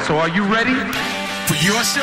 So are you ready? For your show?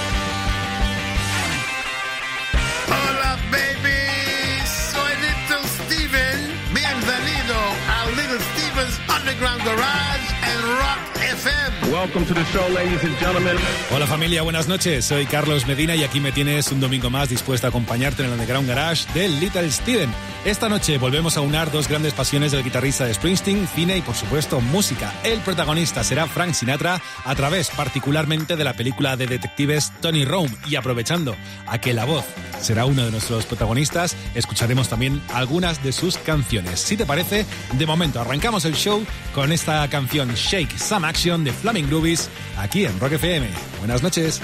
Hola, baby. Soy Little Steven. Bienvenido a Little Steven's Underground Garage en Rock FM. Welcome to the show, ladies and gentlemen. Hola familia, buenas noches. Soy Carlos Medina y aquí me tienes un domingo más dispuesto a acompañarte en el Underground Garage de Little Steven. Esta noche volvemos a unar dos grandes pasiones del guitarrista de Springsteen, cine y por supuesto música. El protagonista será Frank Sinatra a través particularmente de la película de detectives Tony Rome, y aprovechando a que la voz será uno de nuestros protagonistas, escucharemos también algunas de sus canciones. Si te parece, de momento arrancamos el show con esta canción Shake Some Action de Flaming Groovies aquí en Rock FM. Buenas noches.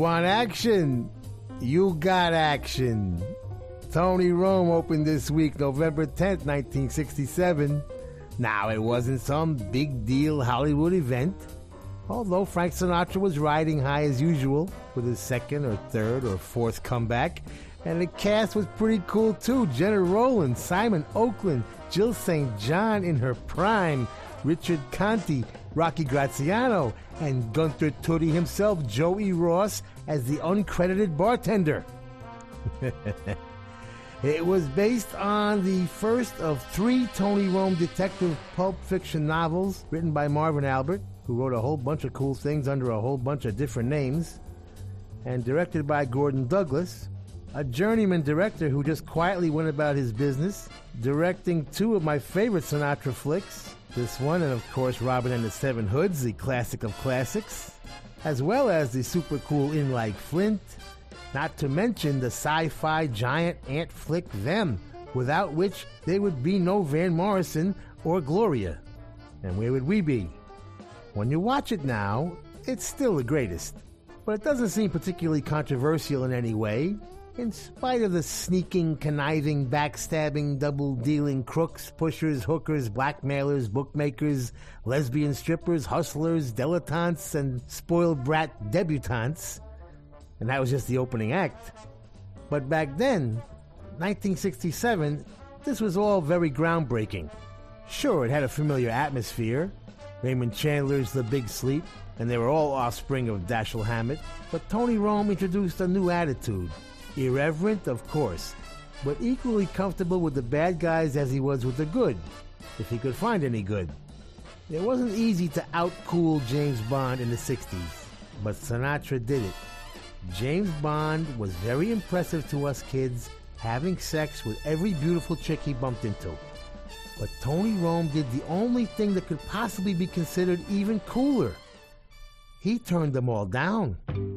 want action? You got action. Tony Rome opened this week, November 10th, 1967. Now, it wasn't some big deal Hollywood event, although Frank Sinatra was riding high as usual with his second or third or fourth comeback, and the cast was pretty cool too. Jenna Rowland, Simon Oakland, Jill St. John in her prime, Richard Conte, Rocky Graziano, and Gunther Tootie himself, Joey Ross, as the uncredited bartender. It was based on the first of 3 Tony Rome detective pulp fiction novels written by Marvin Albert, who wrote a whole bunch of cool things under a whole bunch of different names, and directed by Gordon Douglas, a journeyman director who just quietly went about his business, directing 2 of my favorite Sinatra flicks, this one and of course Robin and the Seven Hoods, the classic of classics, as well as the super cool In Like Flint, not to mention the sci-fi giant ant flick Them, without which there would be no Van Morrison or Gloria. And where would we be? When you watch it now, it's still the greatest, but it doesn't seem particularly controversial in any way, in spite of the sneaking, conniving, backstabbing, double-dealing crooks, pushers, hookers, blackmailers, bookmakers, lesbian strippers, hustlers, dilettantes, and spoiled brat debutantes. And that was just the opening act. But back then, 1967, this was all very groundbreaking. Sure, it had a familiar atmosphere. Raymond Chandler's The Big Sleep, and they were all offspring of Dashiell Hammett. But Tony Rome introduced a new attitude. Irreverent, of course, but equally comfortable with the bad guys as he was with the good, if he could find any good. It wasn't easy to out-cool James Bond in the 60s, but Sinatra did it. James Bond was very impressive to us kids, having sex with every beautiful chick he bumped into. But Tony Rome did the only thing that could possibly be considered even cooler. He turned them all down.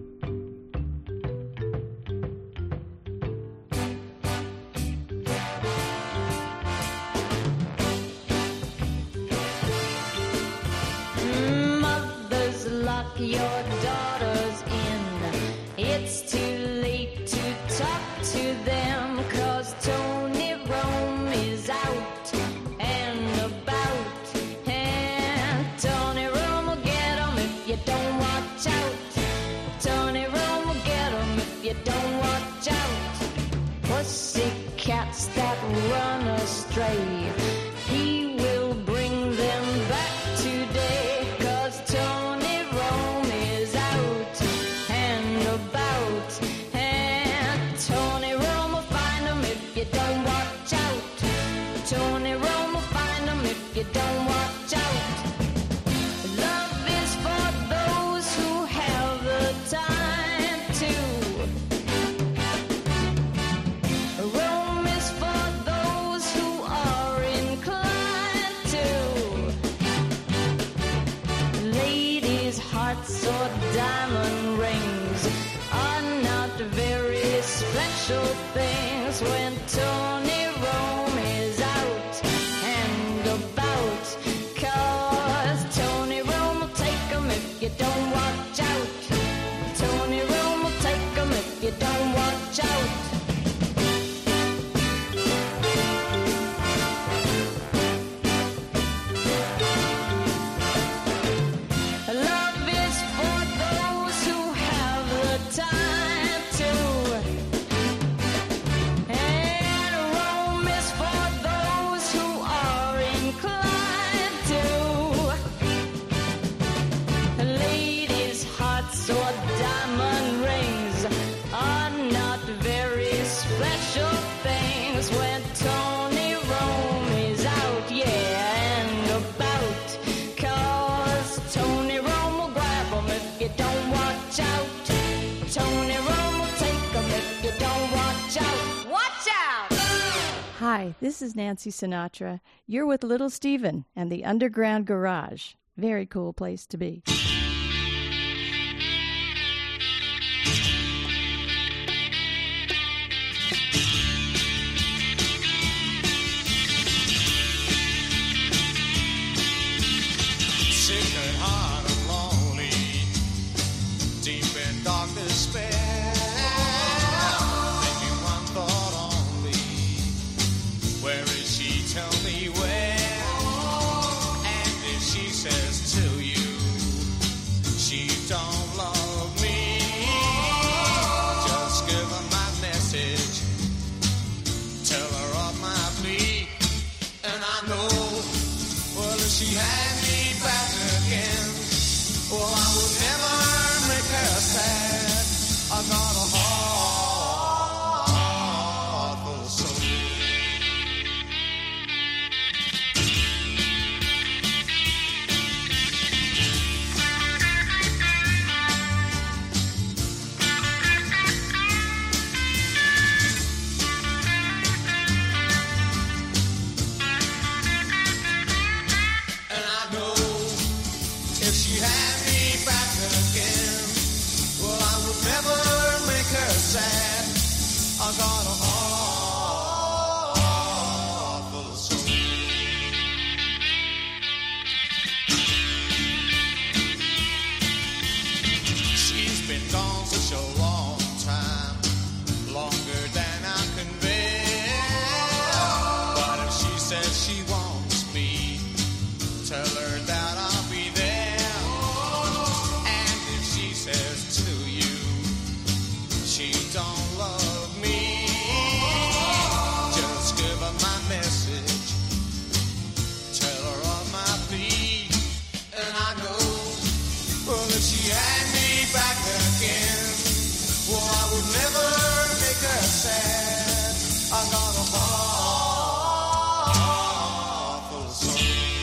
Mothers, lock your daughters in. It's too late to talk to them, 'cause Tony Rome is out and about. And Tony Rome will get 'em if you don't watch out. Tony Rome will get 'em if you don't watch out. Pussycats that run astray, he will bring them back today, 'cause Tony Rome is out and about. And Tony Rome will find 'em if you don't watch out. Tony Rome will find 'em if you don't watch out. Love is for those who have the time to. Rome is for those who are inclined to. Ladies' hearts or diamond rings are not very special things when Tony Rome is out and about, 'cause Tony Rome will take 'em if you don't watch out. Tony Rome will take 'em if you don't watch out. Love is for those who have the time to. And Rome is for those who are inclined to. Ladies' hearts or diamond rings are not very special things when Tony Rome is out, yeah, and about, 'cause Tony Rome will grab 'em if you don't watch out. Tony Rome will take 'em if you don't watch out. Watch out! Hi, this is Nancy Sinatra. You're with Little Steven and the Underground Garage. Very cool place to be. Sick at heart and lonely, deep in dark despair. says to you, she don't love me. Just give her my message, tell her of my plea, and I know, well, if she had me back again, well, I would never make her sad. I got a heart full of soul. I got a heart full of soul. She's been gone such a long time, longer than I can bear. But if she says she wants me, tell her that I'll be there. And if she says to you, she don't love me, just give her my message, tell her of my plea, and I know, well, if she had me back again, well, I would never make her sad. I got a heart full of soul.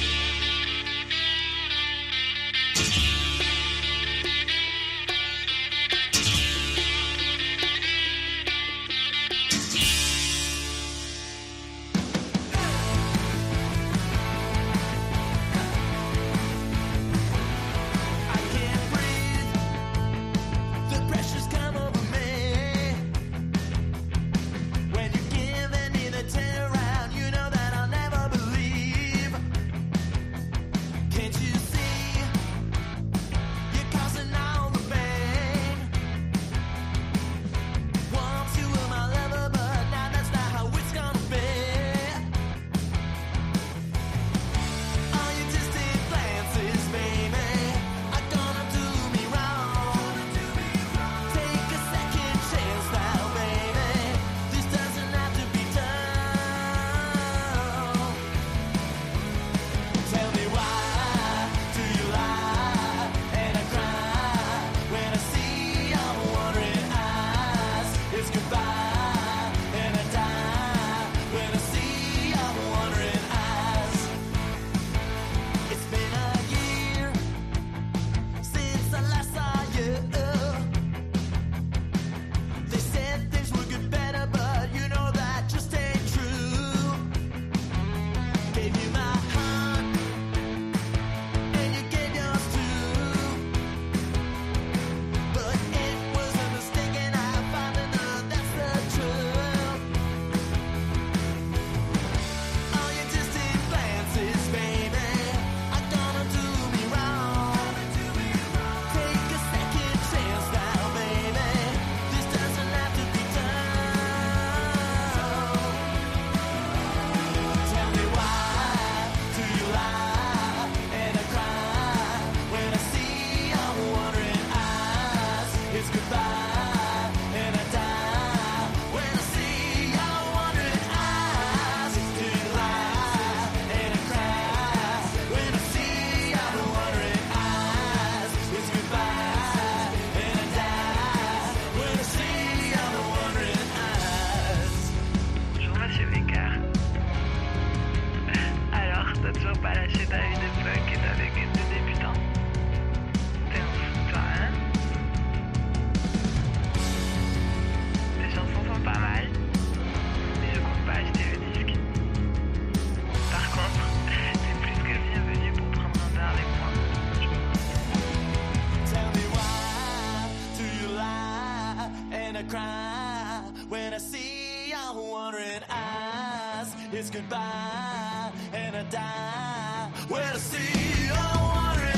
It's goodbye and I die when I see your wandering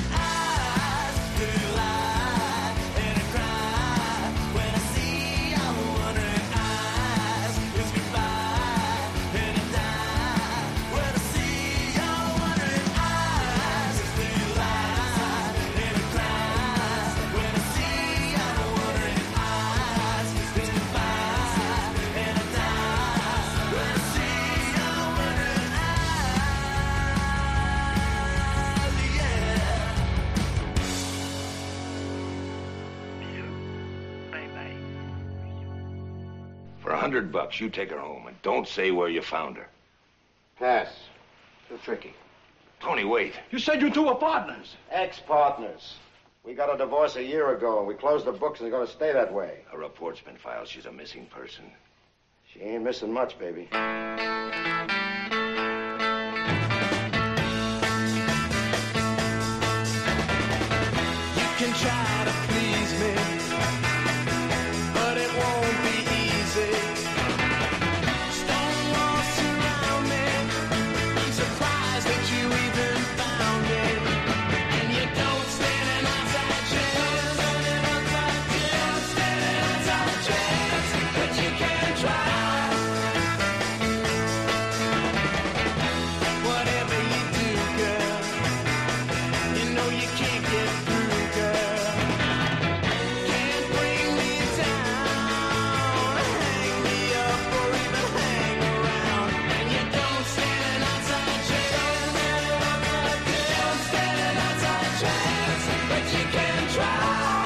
eyes. Do you lie and I cry when I see your wandering eyes? It's goodbye and I die when I see your wandering eyes. Do you lie? $100. You take her home and don't say where you found her. Pass. Too tricky. Tony, wait. You said you two were partners. Ex-partners. We got a divorce a year ago, and we closed the books, and it's going to stay that way. A report's been filed. She's a missing person. She ain't missing much, baby. You can try to please me, but it won't be easy. Stone walls surround me. I'm surprised that you even found it. And you don't stand an outside chance. Don't stand an outside chance. But you can try. Whatever you do, girl, you know you can't get through, girl. Can't bring me down, hang me up, or even hang around. And you don't stand an outside chance. Don't stand an outside chance, but you can try.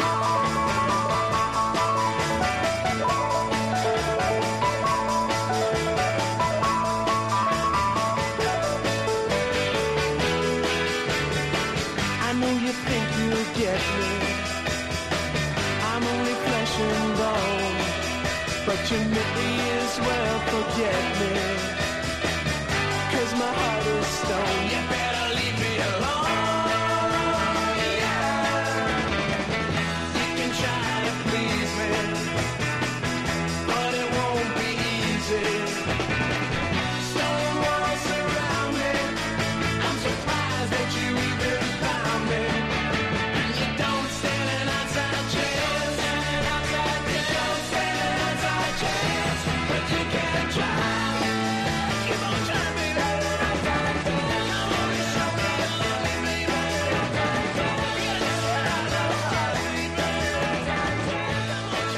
I know you think you'll get me. I'm only flesh and bone, but you may as well forget me. 'Cause my heart is stone. You better leave me alone. Yeah. You can try to please me, but it won't be easy. Stone walls surround me. I'm surprised that you even found me. And you don't stand an outside chance. Don't stand an outside chance, but you can try. Keep on trying, baby. Come on and show me you love me, baby. You gotta try to hold me, baby. Come on,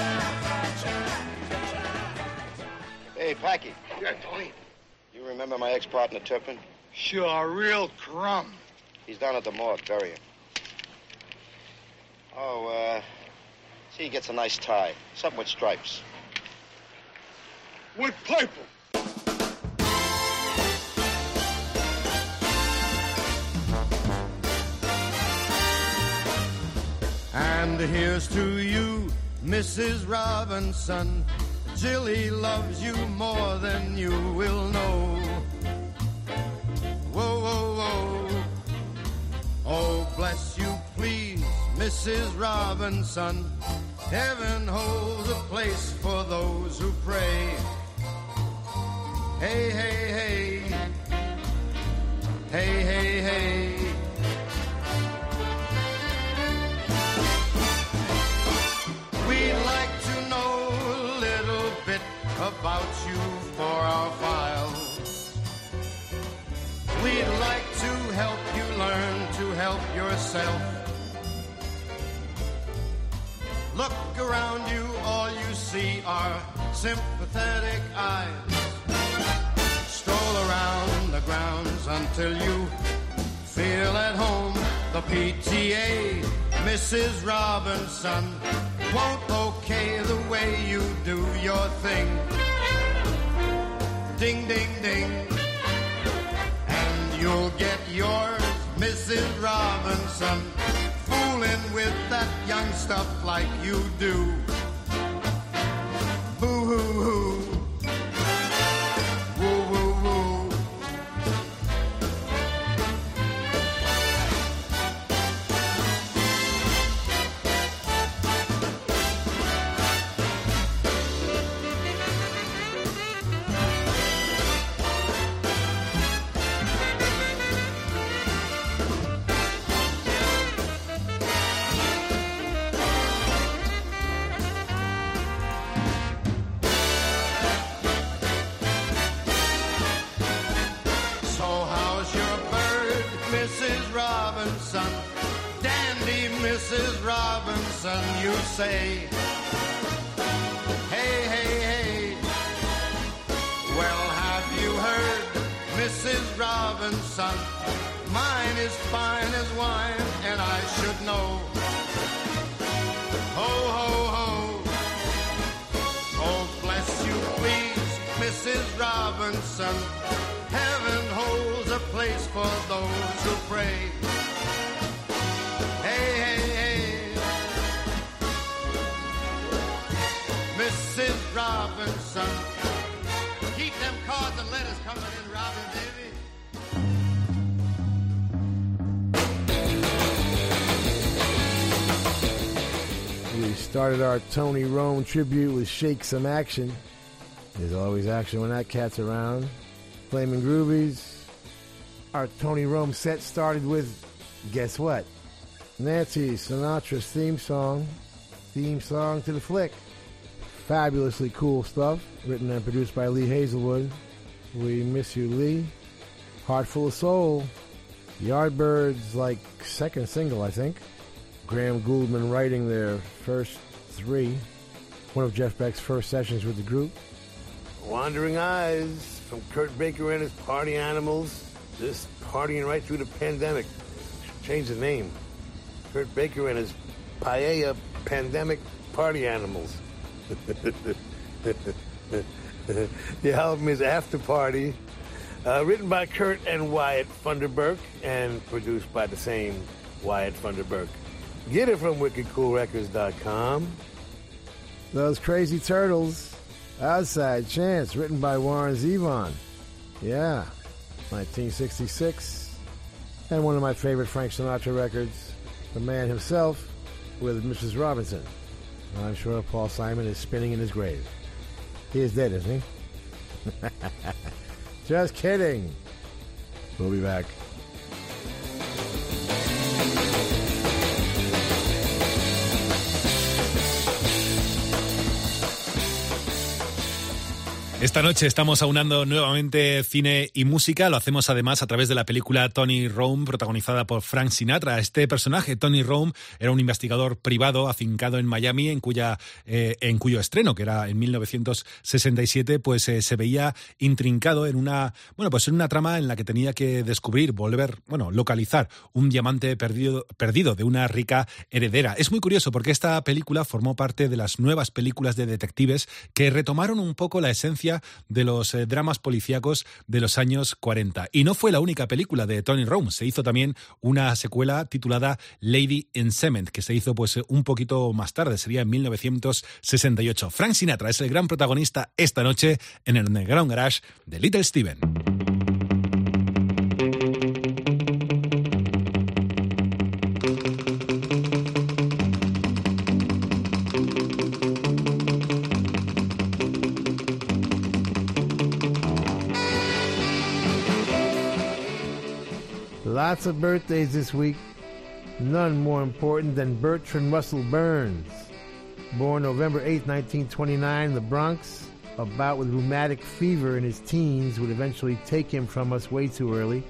try. Hey, Packy, Yeah, Tony. you remember my ex-partner, Turpin? Sure, real crumb. He's down at the morgue, burying. Oh, see, he gets a nice tie. Something with stripes. With purple. And here's to you, Mrs. Robinson. Jilly loves you more than you will know. Whoa, whoa, whoa. Oh, bless you, please, Mrs. Robinson. Heaven holds a place for those who pray. Hey, hey, hey. Hey, hey, hey. We'd like to know a little bit about you for our files. We'd like to help you learn to help yourself. Look around you, all you see are sympathetic eyes. Stroll around the grounds until you feel at home. The PTA, Mrs. Robinson, won't okay the way you do your thing. Ding, ding, ding. And you'll get yours, Mrs. Robinson, fooling with that young stuff like you do. Boo-hoo-hoo. Woo-woo-woo. Robinson, dandy Mrs. Robinson, you say. Hey, hey, hey. Well, have you heard, Mrs. Robinson? Mine is fine as wine, and I should know. Ho, ho, ho. Oh, bless you, please. Robinson. Heaven holds a place for those who pray. Hey, hey, hey. Mrs. Robinson, keep them cards and letters coming in, Robin, baby. We started our Tony Rome tribute with Shake Some Action. There's always action when that cat's around. Flamin' Groovies. Our Tony Rome set started with, guess what? Nancy Sinatra's theme song to the flick. Fabulously cool stuff, written and produced by Lee Hazelwood. We Miss You, Lee. Heart Full of Soul. Yardbirds, like second single, I think. Graham Gouldman writing their first three. One of Jeff Beck's first sessions with the group. Wandering Eyes from Kurt Baker and his Party Animals. Just partying right through the pandemic. Change the name. Kurt Baker and his Paella Pandemic Party Animals. The album is After Party. Written by Kurt and Wyatt Funderburk and produced by the same Wyatt Funderburk. Get it from wickedcoolrecords.com. Those Crazy Turtles, Outside Chance, written by Warren Zevon. Yeah, 1966. And one of my favorite Frank Sinatra records, the man himself with Mrs. Robinson. I'm sure Paul Simon is spinning in his grave. He is dead, isn't he? Just kidding. We'll be back. Esta noche estamos aunando nuevamente cine y música. Lo hacemos además a través de la película Tony Rome, protagonizada por Frank Sinatra. Este personaje, Tony Rome, era un investigador privado afincado en Miami, en cuyo estreno, que era en 1967, pues se veía intrincado en una trama en la que tenía que localizar un diamante perdido de una rica heredera. Es muy curioso porque esta película formó parte de las nuevas películas de detectives que retomaron un poco la esencia de los dramas policíacos de los años 40. Y no fue la única película de Tony Rome. Se hizo también una secuela titulada Lady in Cement, que se hizo pues un poquito más tarde, sería en 1968. Frank Sinatra es el gran protagonista esta noche en el Underground Garage de Little Steven. Lots of birthdays this week. None more important than Bertrand Russell Burns. Born November 8, 1929 in the Bronx, a bout with rheumatic fever in his teens would eventually take him from us way too early.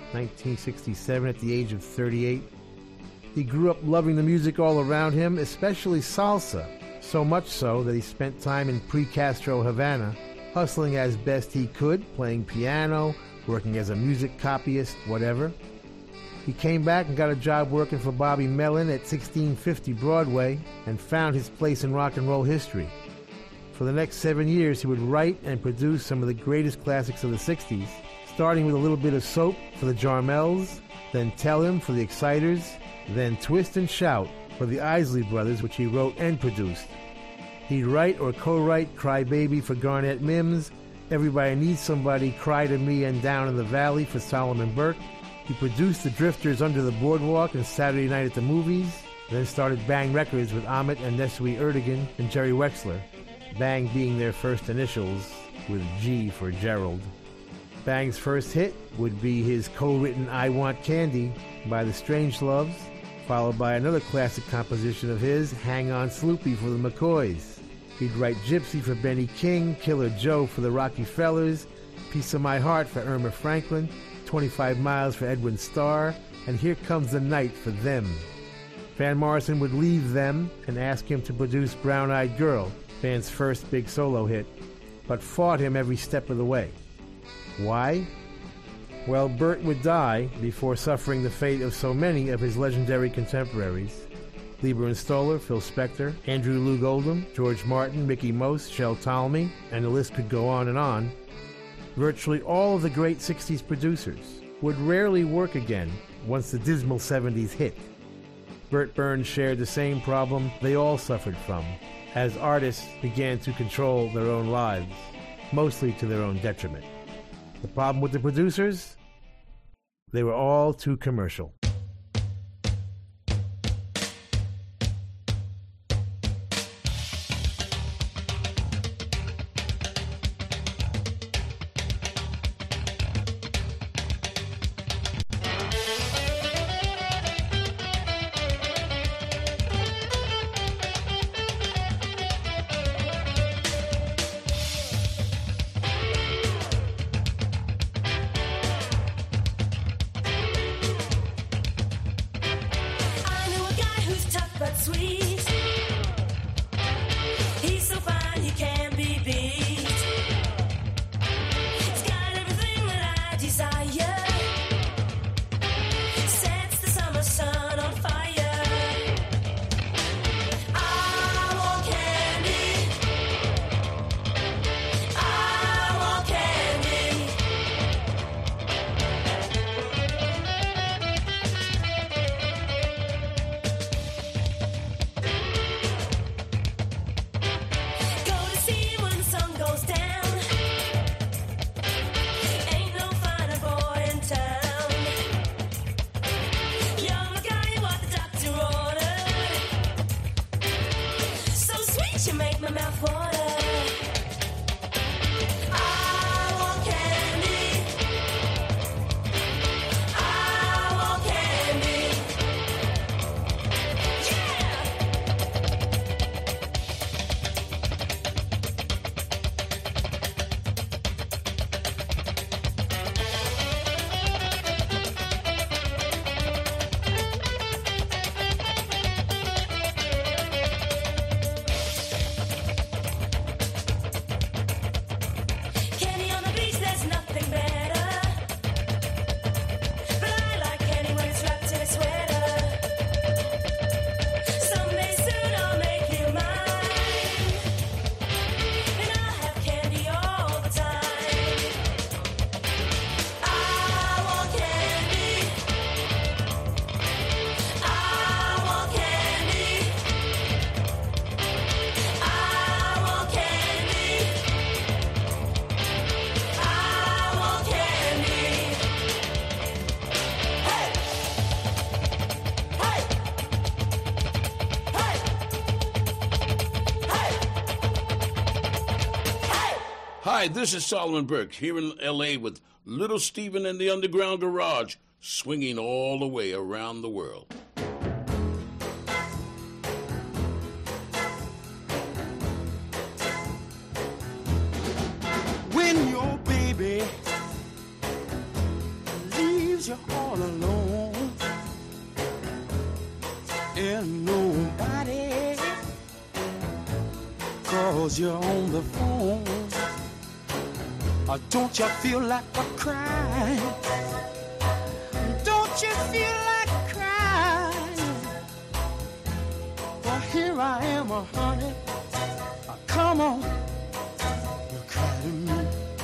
1967 at the age of 38. He grew up loving the music all around him, especially salsa, so much so that he spent time in pre-Castro Havana, hustling as best he could, playing piano, working as a music copyist, whatever. He came back and got a job working for Bobby Mellon at 1650 Broadway and found his place in rock and roll history. For the next 7 years, he would write and produce some of the greatest classics of the 60s, starting with a little bit of Soap for the Jarmels, then Tell Him for the Exciters, then Twist and Shout for the Isley Brothers, which he wrote and produced. He'd write or co-write Cry Baby for Garnett Mims, Everybody Needs Somebody, Cry to Me and Down in the Valley for Solomon Burke. He produced The Drifters Under the Boardwalk and Saturday Night at the Movies, then started Bang Records with Ahmet and Nesui Erdogan and Jerry Wexler, Bang being their first initials, with G for Gerald. Bang's first hit would be his co-written I Want Candy by the Strangeloves, followed by another classic composition of his, Hang On Sloopy for the McCoys. He'd write Gypsy for Benny King, Killer Joe for the Rockefellers, Piece of My Heart for Irma Franklin, 25 Miles for Edwin Starr, and Here Comes the Night for Them. Van Morrison would leave Them and ask him to produce Brown Eyed Girl, Van's first big solo hit, but fought him every step of the way. Why? Well, Bert would die before suffering the fate of so many of his legendary contemporaries. Lieber and Stoller, Phil Spector, Andrew Loog Oldham, George Martin, Mickey Most, Shel Talmy, and the list could go on and on. Virtually all of the great 60s producers would rarely work again once the dismal 70s hit. Burt Burns shared the same problem they all suffered from, as artists began to control their own lives, mostly to their own detriment. The problem with the producers? They were all too commercial. Hi, this is Solomon Burke here in L.A. with Little Steven and the Underground Garage, swinging all the way around the world. When your baby leaves you all alone and nobody calls you on the phone, don't you feel like a crying? Don't you feel like crying? Well, here I am, honey. Come on, you cry to me.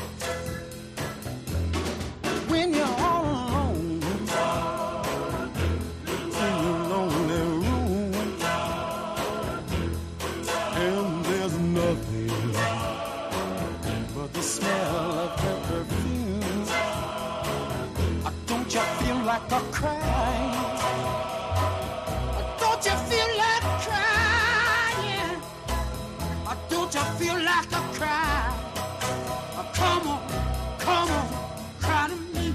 When you're all alone in your lonely room and there's nothing but the smell of her perfume, don't you feel like a crying? Don't you feel like crying? Don't you feel like a cry? Come on, cry to me.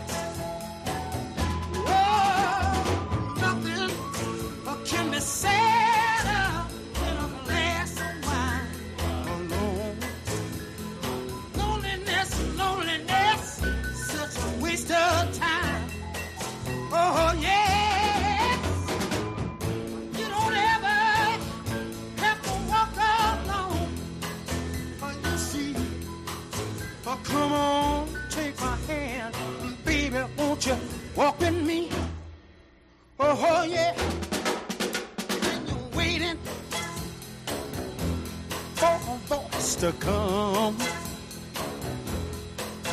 Oh, nothing can be sadder than a glass of wine alone. Loneliness, such a waste of time. Oh, yes. You don't ever have to walk alone. Oh, you see. Oh, come on, take my hand. Baby, won't you walk with me? Oh, yeah. And you're waiting for a voice to come.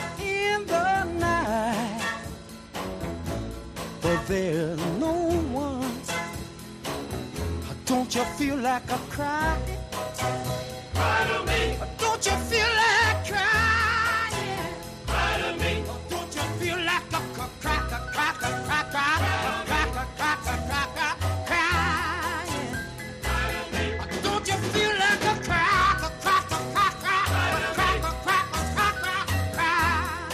Don't you feel like a cry? Cry to me. Don't you feel like crying? Cry to me. Don't you feel like a cracker, cracker, cracker, cracker, cracker, cracker, crying? Don't you feel like a cracker, cracker, cracker, cracker, cracker, cracker, crying?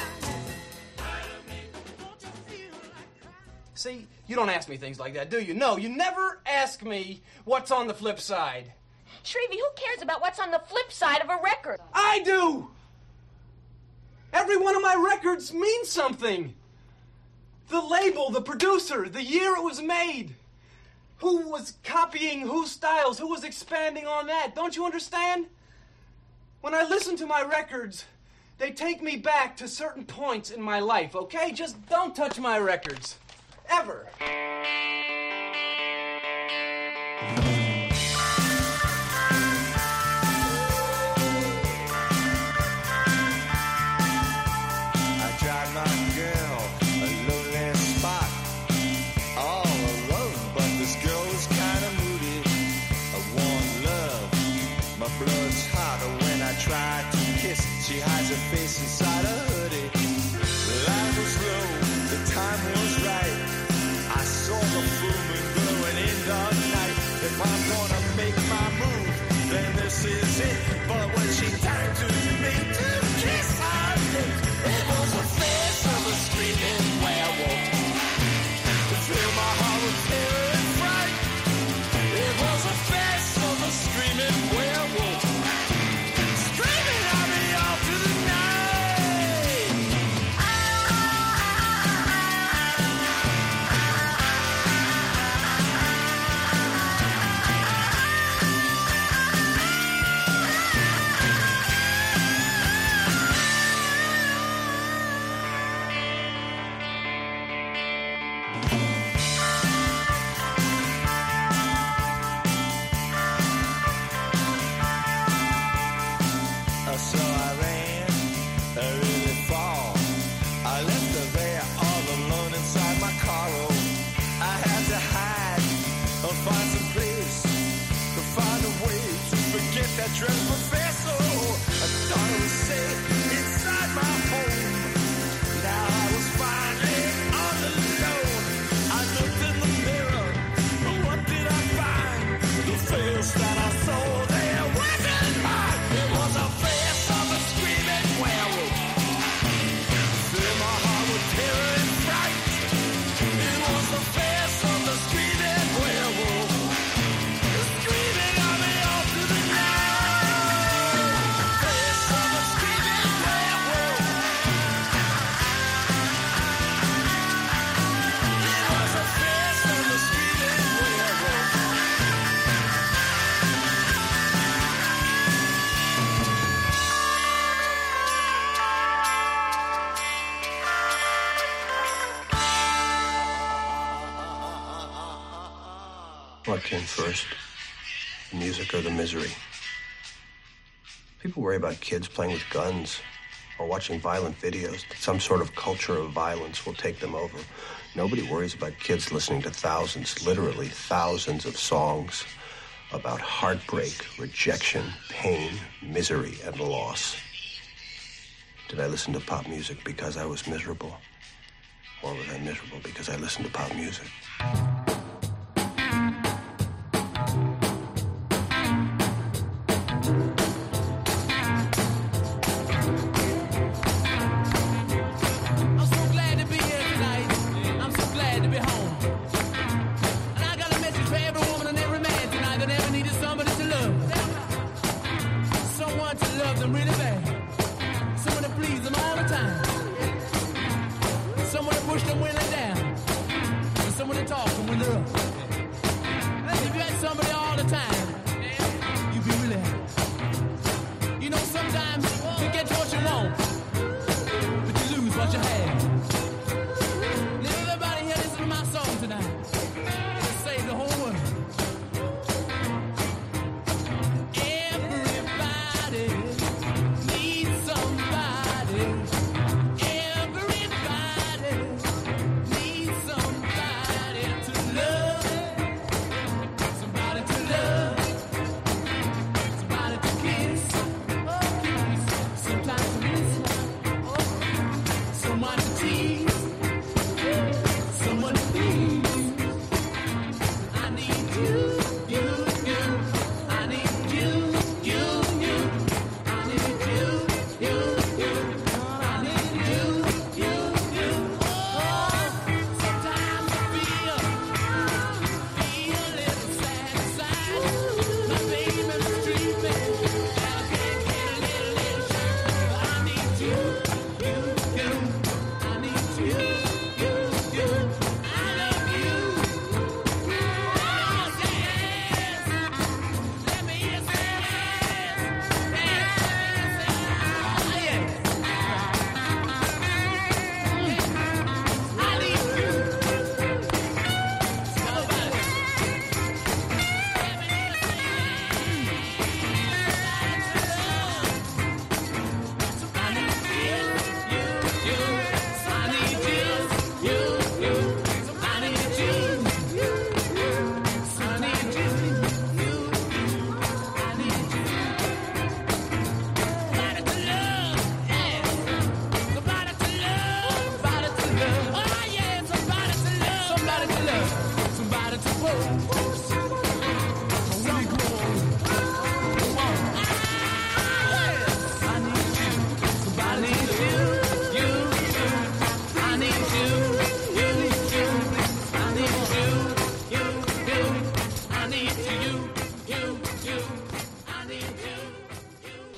See, you don't ask me things like that, do you? No, you never ask me what's on the flip side. Shrevey, who cares about what's on the flip side of a record? I do! Every one of my records means something. The label, the producer, the year it was made. Who was copying whose styles, who was expanding on that. Don't you understand? When I listen to my records, they take me back to certain points in my life, okay? Just don't touch my records. Ever. Try to kiss, she hides her face inside a hoodie. The light was low, the time was right. I saw the full moon glowing in the night. If I'm gonna make my move, then this is it. But when she turned to me to kiss her lips, it was the face of a screaming werewolf. To fill my heart with terror and fright. It was the face of a screaming werewolf. That dress professor, I thought it was safe inside my home. Now I was finally all alone. I looked in the mirror, but what did I find? The face that I saw there wasn't mine. It was a face of a screaming werewolf. Filled my heart with terror and fright. It was the face of the screaming werewolf. Screaming on me all through the night. What came first? The music or the misery? People worry about kids playing with guns or watching violent videos, that some sort of culture of violence will take them over. Nobody worries about kids listening to thousands, literally thousands of songs about heartbreak, rejection, pain, misery, and loss. Did I listen to pop music because I was miserable? Or was I miserable because I listened to pop music?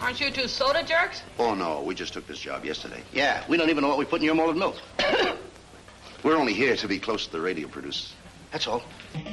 Aren't you two soda jerks? Oh, no, we just took this job yesterday. Yeah, we don't even know what we put in your molded milk. We're only here to be close to the radio producers. That's all.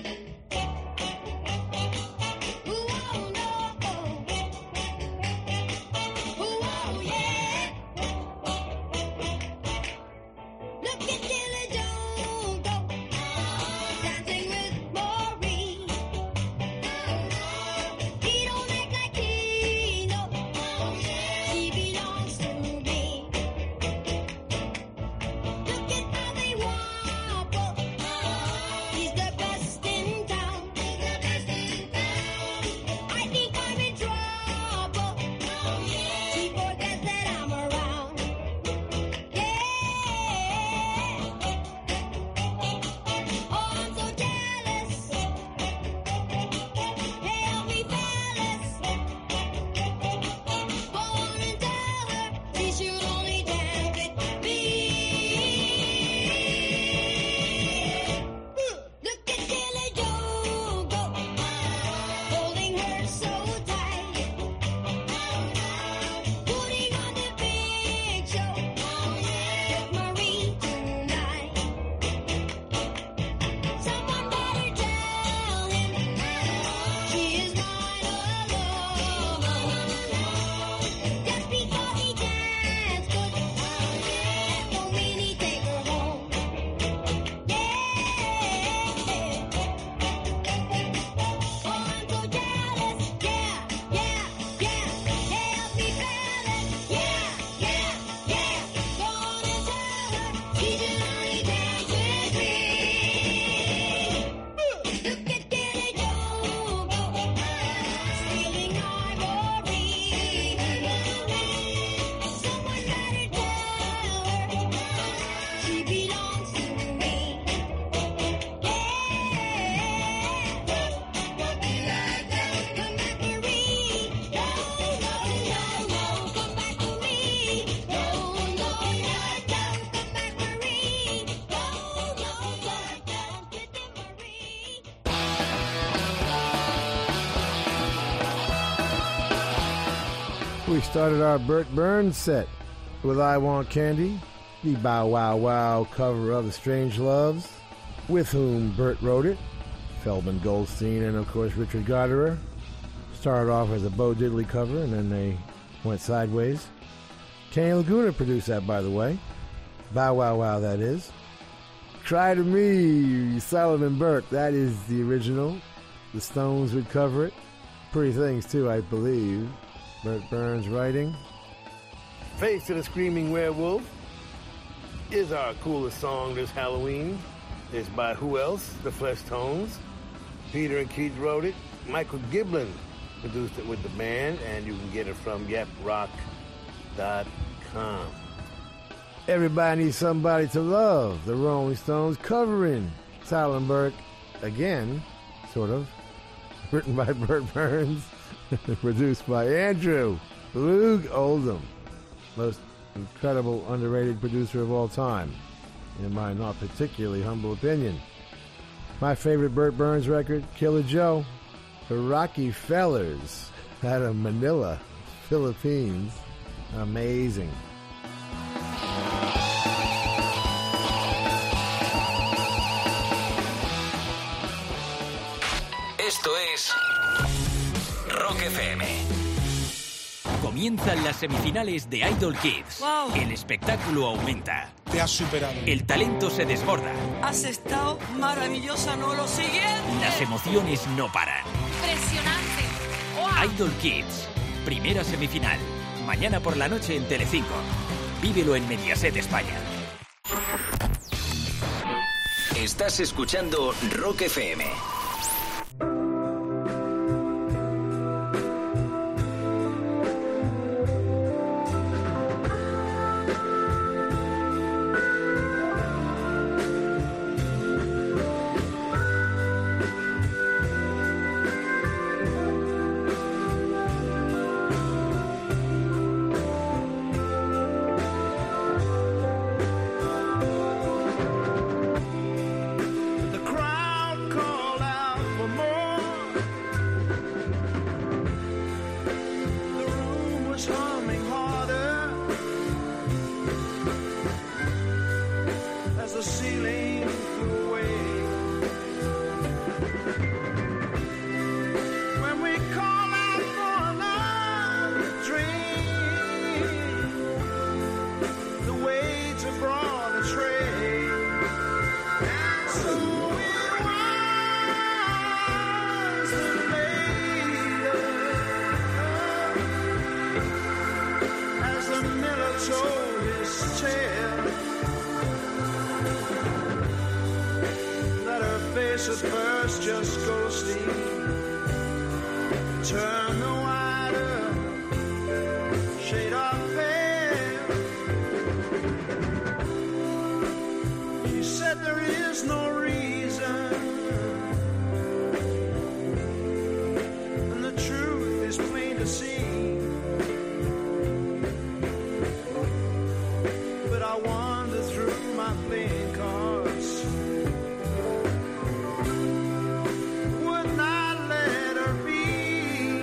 We started our Burt Burns set with I Want Candy, the Bow Wow Wow cover of The Strange Loves, with whom Burt wrote it, Feldman Goldstein and, of course, Richard Goddard. Started off as a Bo Diddley cover, and then they went sideways. Kenny Laguna produced that, by the way. Bow Wow Wow, that is. Cry to Me, Solomon Burke, that is the original. The Stones would cover it. Pretty Things, too, I believe. Burt Burns writing. Face of the Screaming Werewolf is our coolest song this Halloween. It's by who else? The Flesh Tones. Peter and Keith wrote it. Michael Giblin produced it with the band, and you can get it from yeprock.com. Everybody Needs Somebody to Love. The Rolling Stones covering Solomon Burke again, sort of. Written by Burt Burns. Produced by Andrew Loog Oldham, most incredible, underrated producer of all time, in my not particularly humble opinion. My favorite Burt Burns record, Killer Joe, the Rocky Fellers, out of Manila, Philippines. Amazing. Esto es Rock FM. Comienzan las semifinales de Idol Kids. Wow. El espectáculo aumenta. Te has superado. El talento se desborda. Has estado maravillosa, ¿no? Lo siguiente. Las emociones no paran. Impresionante. Wow. Idol Kids. Primera semifinal. Mañana por la noche en Telecinco. Vívelo en Mediaset España. Estás escuchando Rock FM. The crowd called out. at first just ghostly. Turn the wider shade of pale. She said there is no reason, and the truth is plain to see. But I wander through my playing cards. Would not let her be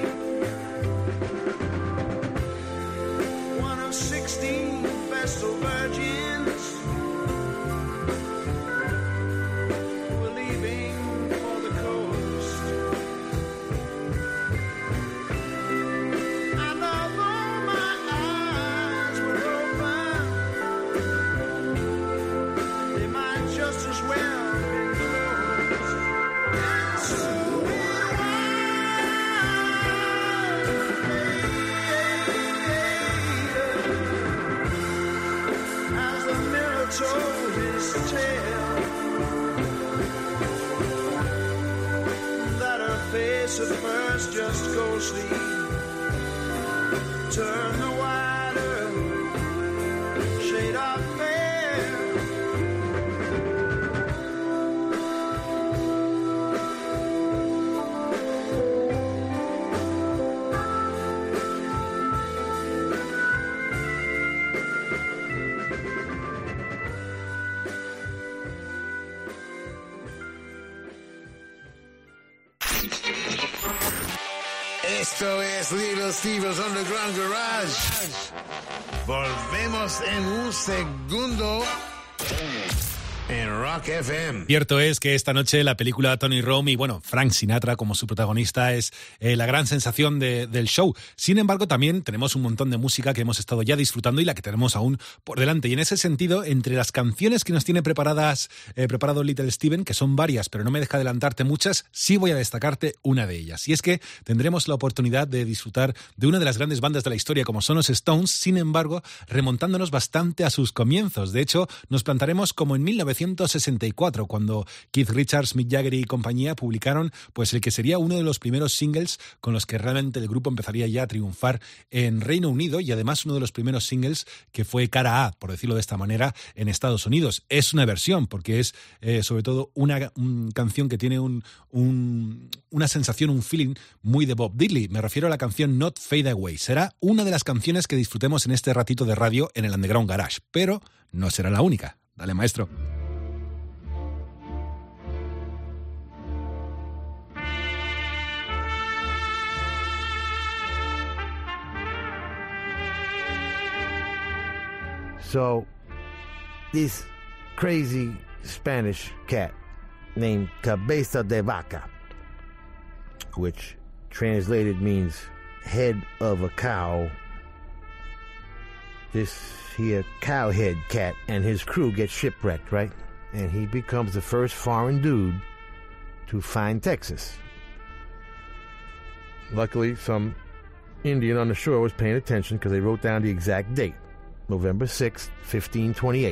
one of 16 vestal virgins who were leaving for the coast. And although my eyes were open, they might just as well be closed. And so it was as the mirror told his tale, that her face at first just ghostly. Turn the wider shade of pale. Esto es Little Steven's Underground Garage. Volvemos en un segundo en Rock FM. Cierto es que esta noche la película Tony Rome y, bueno, Frank Sinatra como su protagonista es la gran sensación del show. Sin embargo, también tenemos un montón de música que hemos estado ya disfrutando y la que tenemos aún por delante. Y en ese sentido, entre las canciones que nos tiene preparado Little Steven, que son varias, pero no me deja adelantarte muchas, sí voy a destacarte una de ellas. Y es que tendremos la oportunidad de disfrutar de una de las grandes bandas de la historia como son los Stones, sin embargo, remontándonos bastante a sus comienzos. De hecho, nos plantaremos como en 1964, cuando Keith Richards, Mick Jagger y compañía publicaron pues el que sería uno de los primeros singles con los que realmente el grupo empezaría ya a triunfar en Reino Unido, y además uno de los primeros singles que fue cara A, por decirlo de esta manera, en Estados Unidos. Es una versión, porque es sobre todo una canción que tiene una sensación, un feeling muy de Bob Dylan. Me refiero a la canción Not Fade Away. Será una de las canciones que disfrutemos en este ratito de radio en el Underground Garage, pero no será la única. Dale, maestro. So, this crazy Spanish cat named Cabeza de Vaca, which translated means head of a cow. This here cowhead cat and his crew get shipwrecked, right? And he becomes the first foreign dude to find Texas. Luckily, some Indian on the shore was paying attention because they wrote down the exact date, November 6th, 1528.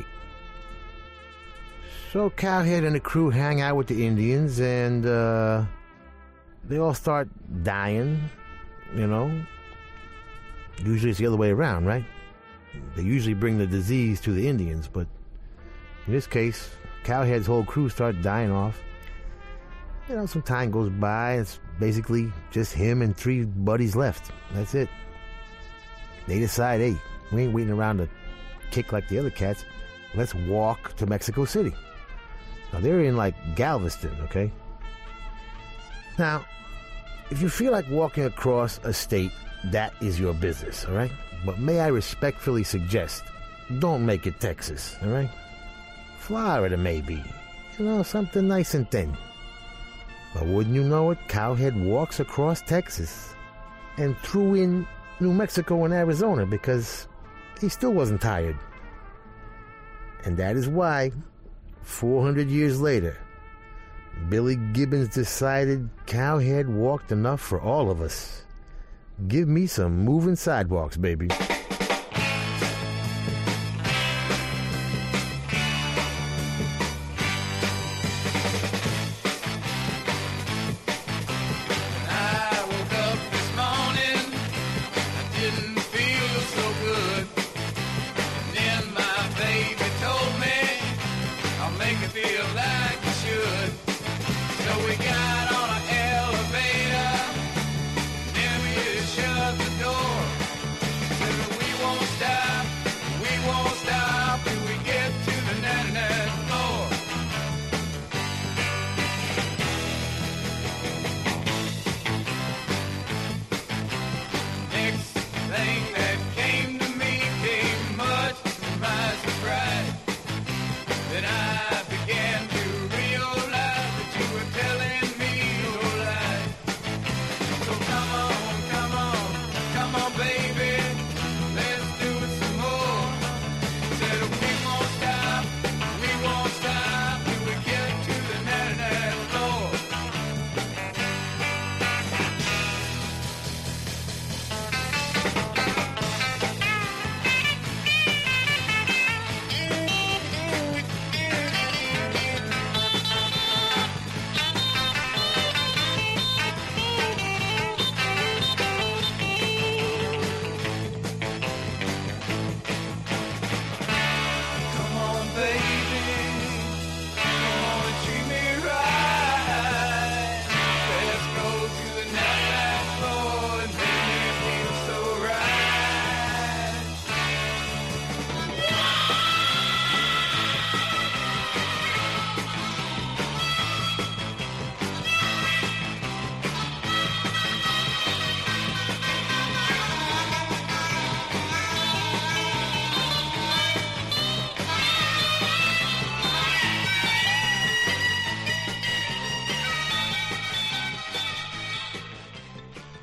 So Cowhead and the crew hang out with the Indians, and they all start dying, you know. Usually it's the other way around, right? They usually bring the disease to the Indians, but in this case, Cowhead's whole crew starts dying off. You know, some time goes by, it's basically just him and 3 buddies left. That's it. They decide, hey, we ain't waiting around to kick like the other cats. Let's walk to Mexico City. Now, they're in, like, Galveston, okay? Now, if you feel like walking across a state, that is your business, all right? But may I respectfully suggest, don't make it Texas, all right? Florida, maybe. You know, something nice and thin. But wouldn't you know it, Cowhead walks across Texas and threw in New Mexico and Arizona because he still wasn't tired. And that is why, 400 years later, Billy Gibbons decided Cowhead walked enough for all of us. Give me some moving sidewalks, baby.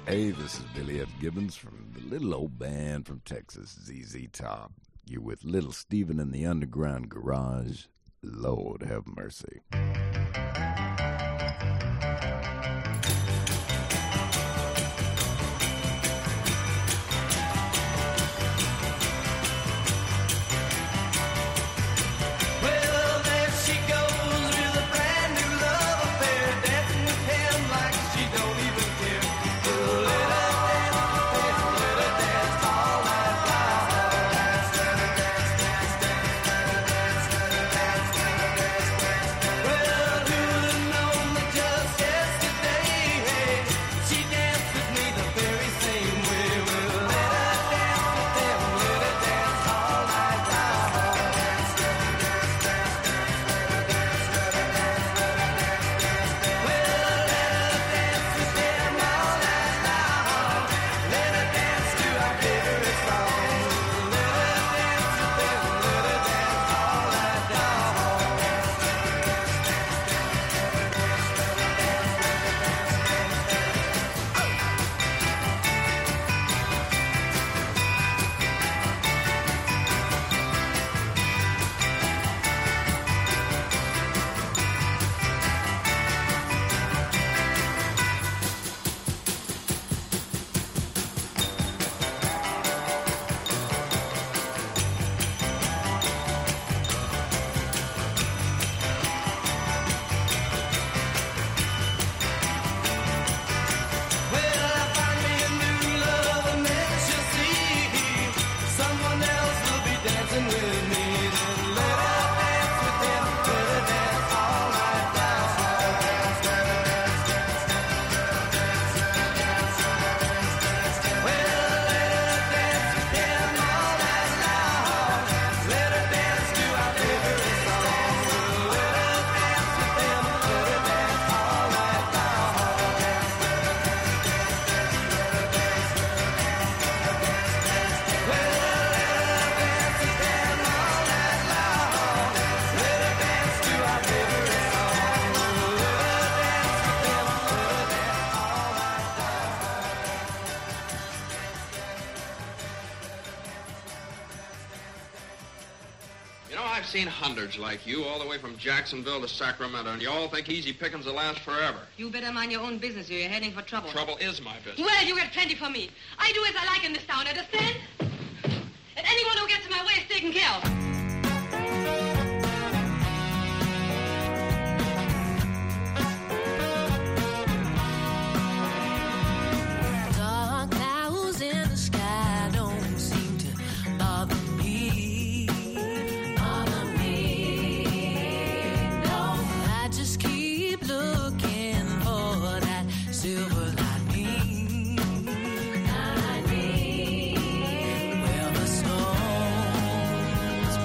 Hey, this is Billy F. Gibbons from the little old band from Texas, ZZ Top. You're with Little Steven in the Underground Garage. Lord have mercy. I've seen hundreds like you all the way from Jacksonville to Sacramento, and you all think easy pickings will last forever. You better mind your own business or you're heading for trouble. Trouble is my business. Well, you get plenty for me. I do as I like in this town, understand? And anyone who gets in my way is taken care of. Well, the storms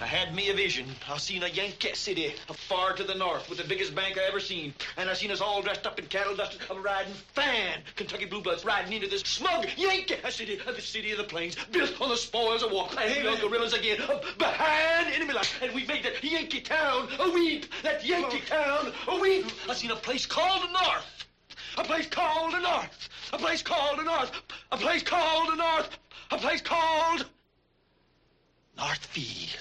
had me a vision. I seen a Yankee city far to the north with the biggest bank I ever seen. And I seen us all dressed up in cattle dust, riding fine Kentucky blue bloods riding into this smug Yankee city, the city of the plains, built on the spoils of war. And the guerrillas again, behind enemy lines. And we made that Yankee town a weep. That Yankee town a weep. I seen a place called the North. A place called the North. A place called the North. A place called the North. A place called Northfield.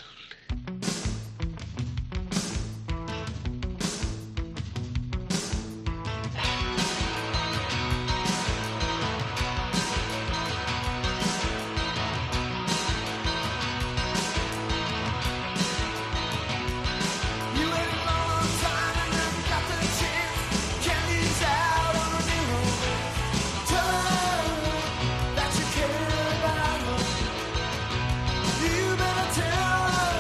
You better tell her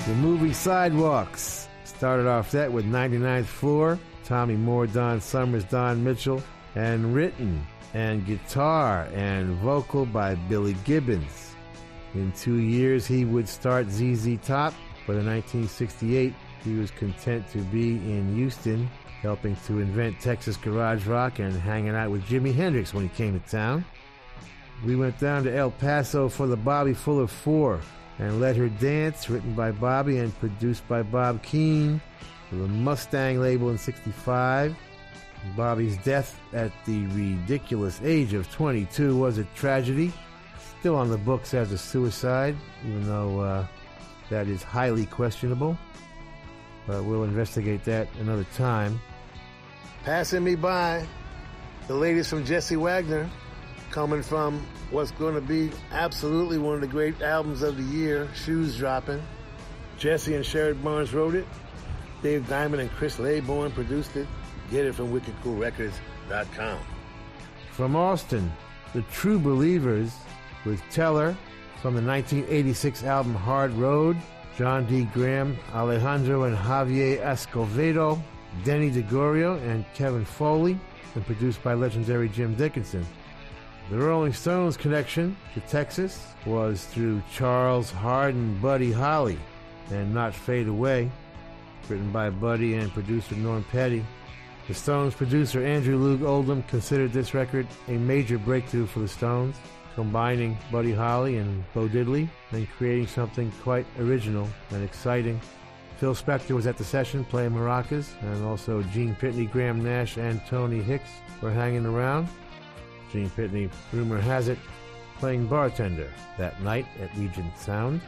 The movie Sidewalks started off that with 99th Floor, Tommy Moore, Don Summers, Don Mitchell, and written and guitar and vocal by Billy Gibbons. In 2 years, he would start ZZ Top, but in 1968, he was content to be in Houston, helping to invent Texas garage rock and hanging out with Jimi Hendrix when he came to town. We went down to El Paso for the Bobby Fuller 4 and Let Her Dance, written by Bobby and produced by Bob Keane for the Mustang label in 65. Bobby's death at the ridiculous age of 22 was a tragedy. Still on the books as a suicide, even though that is highly questionable. But we'll investigate that another time. Passing me by, the latest from Jesse Wagner, coming from what's going to be absolutely one of the great albums of the year, Shoes Dropping. Jesse and Sherrod Barnes wrote it. Dave Diamond and Chris Laybourne produced it. Get it from WickedCoolRecords.com. From Austin, the True Believers with Teller from the 1986 album Hard Road. John D. Graham, Alejandro and Javier Escovedo, Denny DeGorio, and Kevin Foley, and produced by legendary Jim Dickinson. The Rolling Stones connection to Texas was through Charles Hardin, Buddy Holly, and Not Fade Away, written by Buddy and producer Norm Petty. The Stones producer Andrew Loog Oldham considered this record a major breakthrough for the Stones, combining Buddy Holly and Bo Diddley and creating something quite original and exciting. Phil Spector was at the session playing maracas, and also Gene Pitney, Graham Nash, and Tony Hicks were hanging around. Gene Pitney, rumor has it, playing bartender that night at Regent Sound.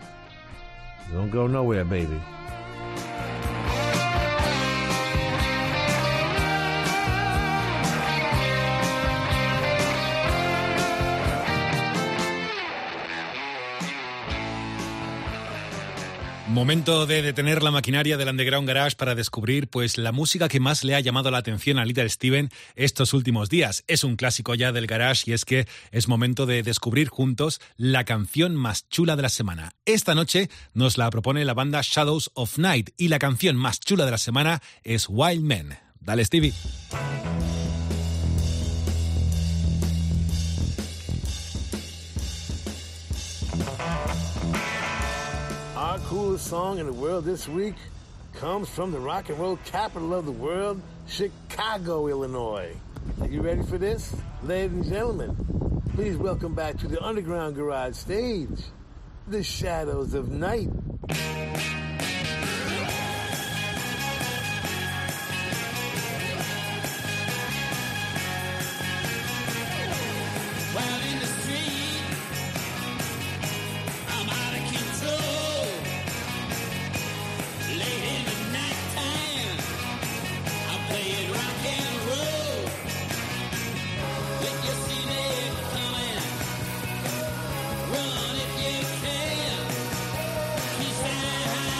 Don't go nowhere, baby. Momento de detener la maquinaria del Underground Garage para descubrir pues la música que más le ha llamado la atención a Little Steven estos últimos días. Es un clásico ya del garage y es que es momento de descubrir juntos la canción más chula de la semana. Esta noche nos la propone la banda Shadows of Night y la canción más chula de la semana es Wild Men. Dale, Stevie. Our coolest song in the world this week comes from the rock and roll capital of the world, Chicago, Illinois. Are you ready for this? Ladies and gentlemen, please welcome back to the Underground Garage stage, the Shadows of Night. Run if you can. Keep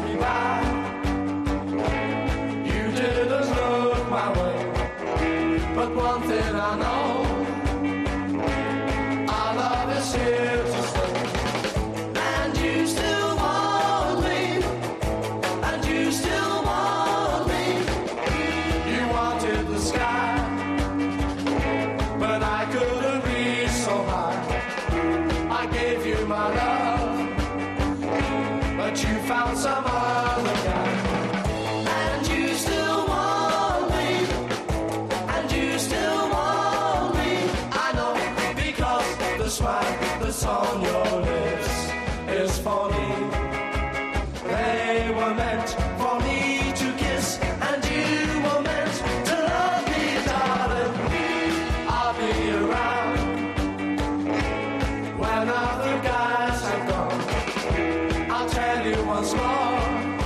me by. You didn't look my way, but one thing I know, our love is here to stay. And you still want me, and you still want me. You wanted the sky, but I couldn't reach so high. I gave you my love, but you found some other guy. And you still want me, and you still want me. I know, because the smile that's on your lips is for me. They were meant for me to kiss, and you were meant to love me, darling. I'll be around when other guys have gone. I'll tell you once more,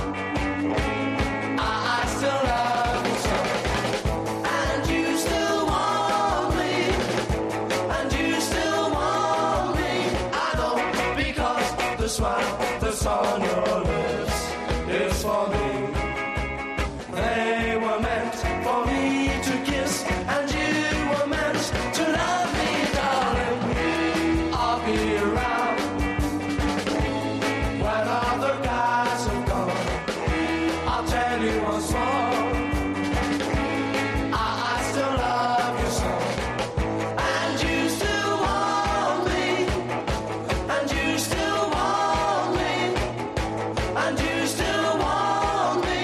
I still love you so. And you still want me, and you still want me. I know, because the smile that's on your lips is for me. They were meant for me to kiss, and you were meant to love me, darling. I'll be around when other guys have gone. I'll tell you once more, I still love you so. And you still want me, and you still want me, and you still want me.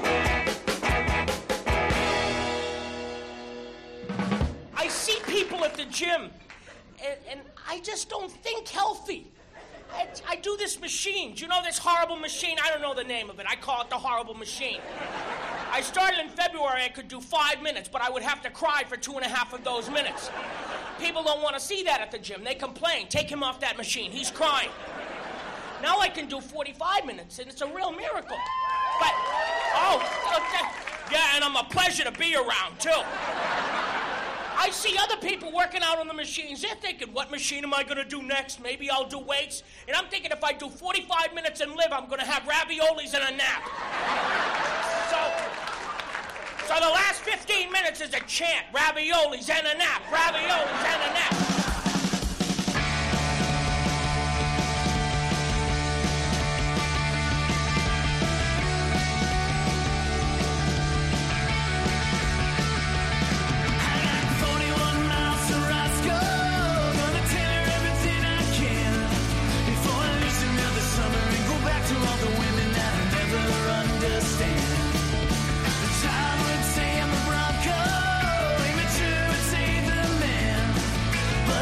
I see people at the gym, and I just don't think healthy. I do this machine. Do you know this horrible machine? I don't know the name of it. I call it the horrible machine. I started in February. I could do 5 minutes, but I would have to cry for 2.5 of those minutes. People don't want to see that at the gym. They complain. Take him off that machine. He's crying. Now I can do 45 minutes, and it's a real miracle. But, yeah, and I'm a pleasure to be around, too. I see other people working out on the machines. They're thinking, what machine am I going to do next? Maybe I'll do weights. And I'm thinking if I do 45 minutes and live, I'm going to have raviolis and a nap. So the last 15 minutes is a chant. Raviolis and a nap. Raviolis and a nap. But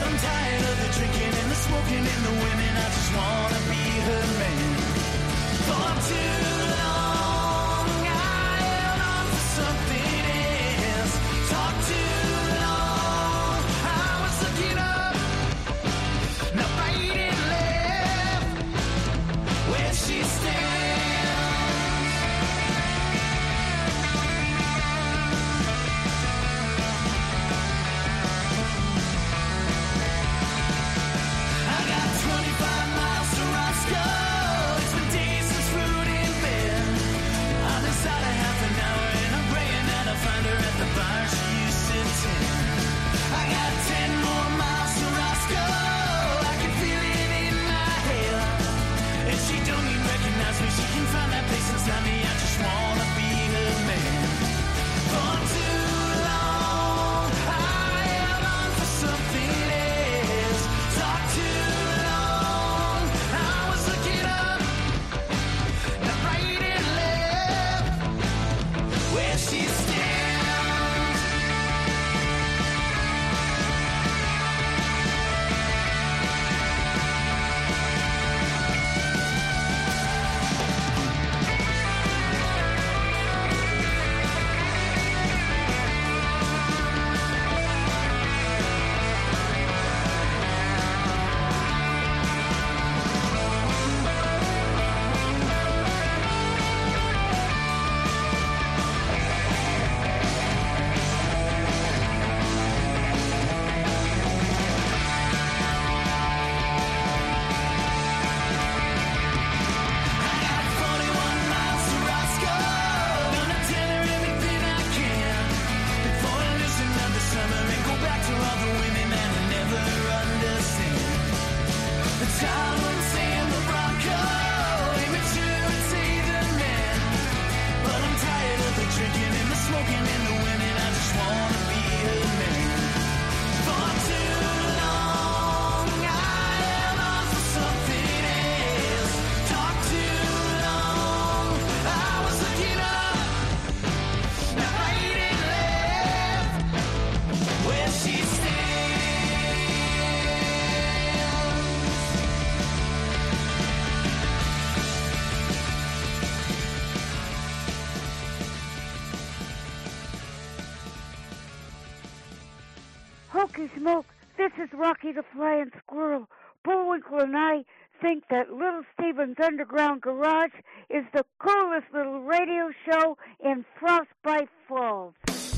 Smoke, this is Rocky the Flying Squirrel. Bullwinkle and I think that Little Steven's Underground Garage is the coolest little radio show in Frostbite Falls.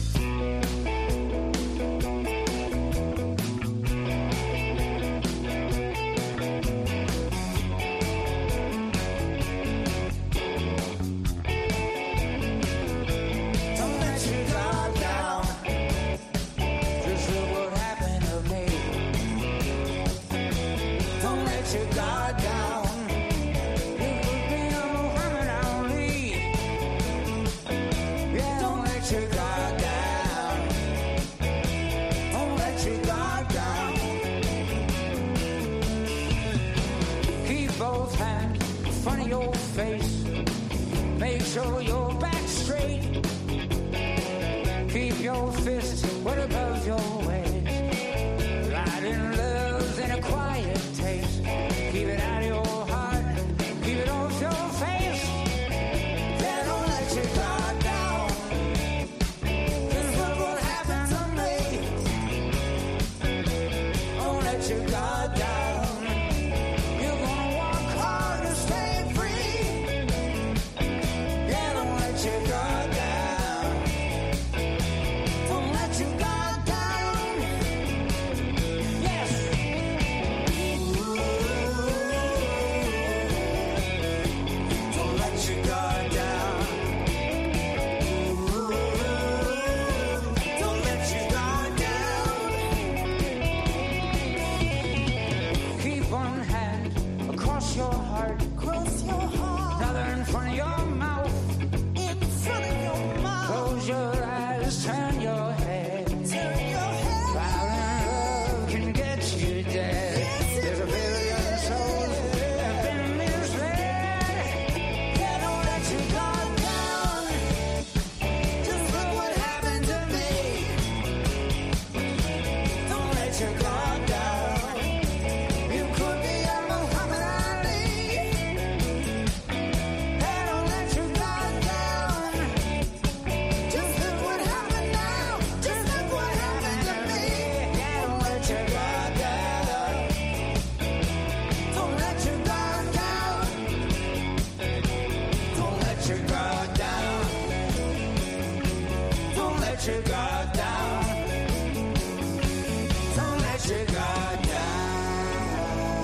Show your back straight. Keep your fist well above your waist. Riding love's in a quiet taste. Keep it out of your heart. Keep it off your face. Yeah, don't let your guard down. 'Cause look what happened to me. Don't let your guard down. You're gonna work hard to stay free. Don't let your guard down. Don't let your guard down. Yes. Don't let your guard down. Don't let your guard down. Keep one hand across your heart. Across your heart. Another in front of your mouth. Close your eyes, turn your head. Violent love can get you dead. There's a billion souls that have been misled. Yeah, don't let your guard down. Just look what happened to me. Don't let your guard down. You could be a Muhammad Ali. Yeah, don't let your guard down. Just look what happened now. Just look what happened to me. Yeah, don't let your guard down. Don't let your guard down. Don't let your guard down. Don't let your guard down. Don't let your guard down.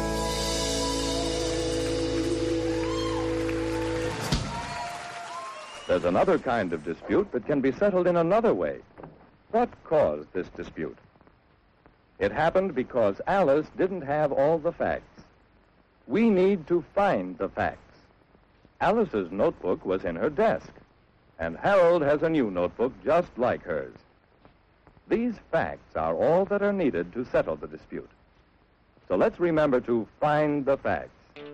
There's another kind of dispute that can be settled in another way. What caused this dispute? It happened because Alice didn't have all the facts. We need to find the facts. Alice's notebook was in her desk, and Harold has a new notebook just like hers. These facts are all that are needed to settle the dispute. So let's remember to find the facts.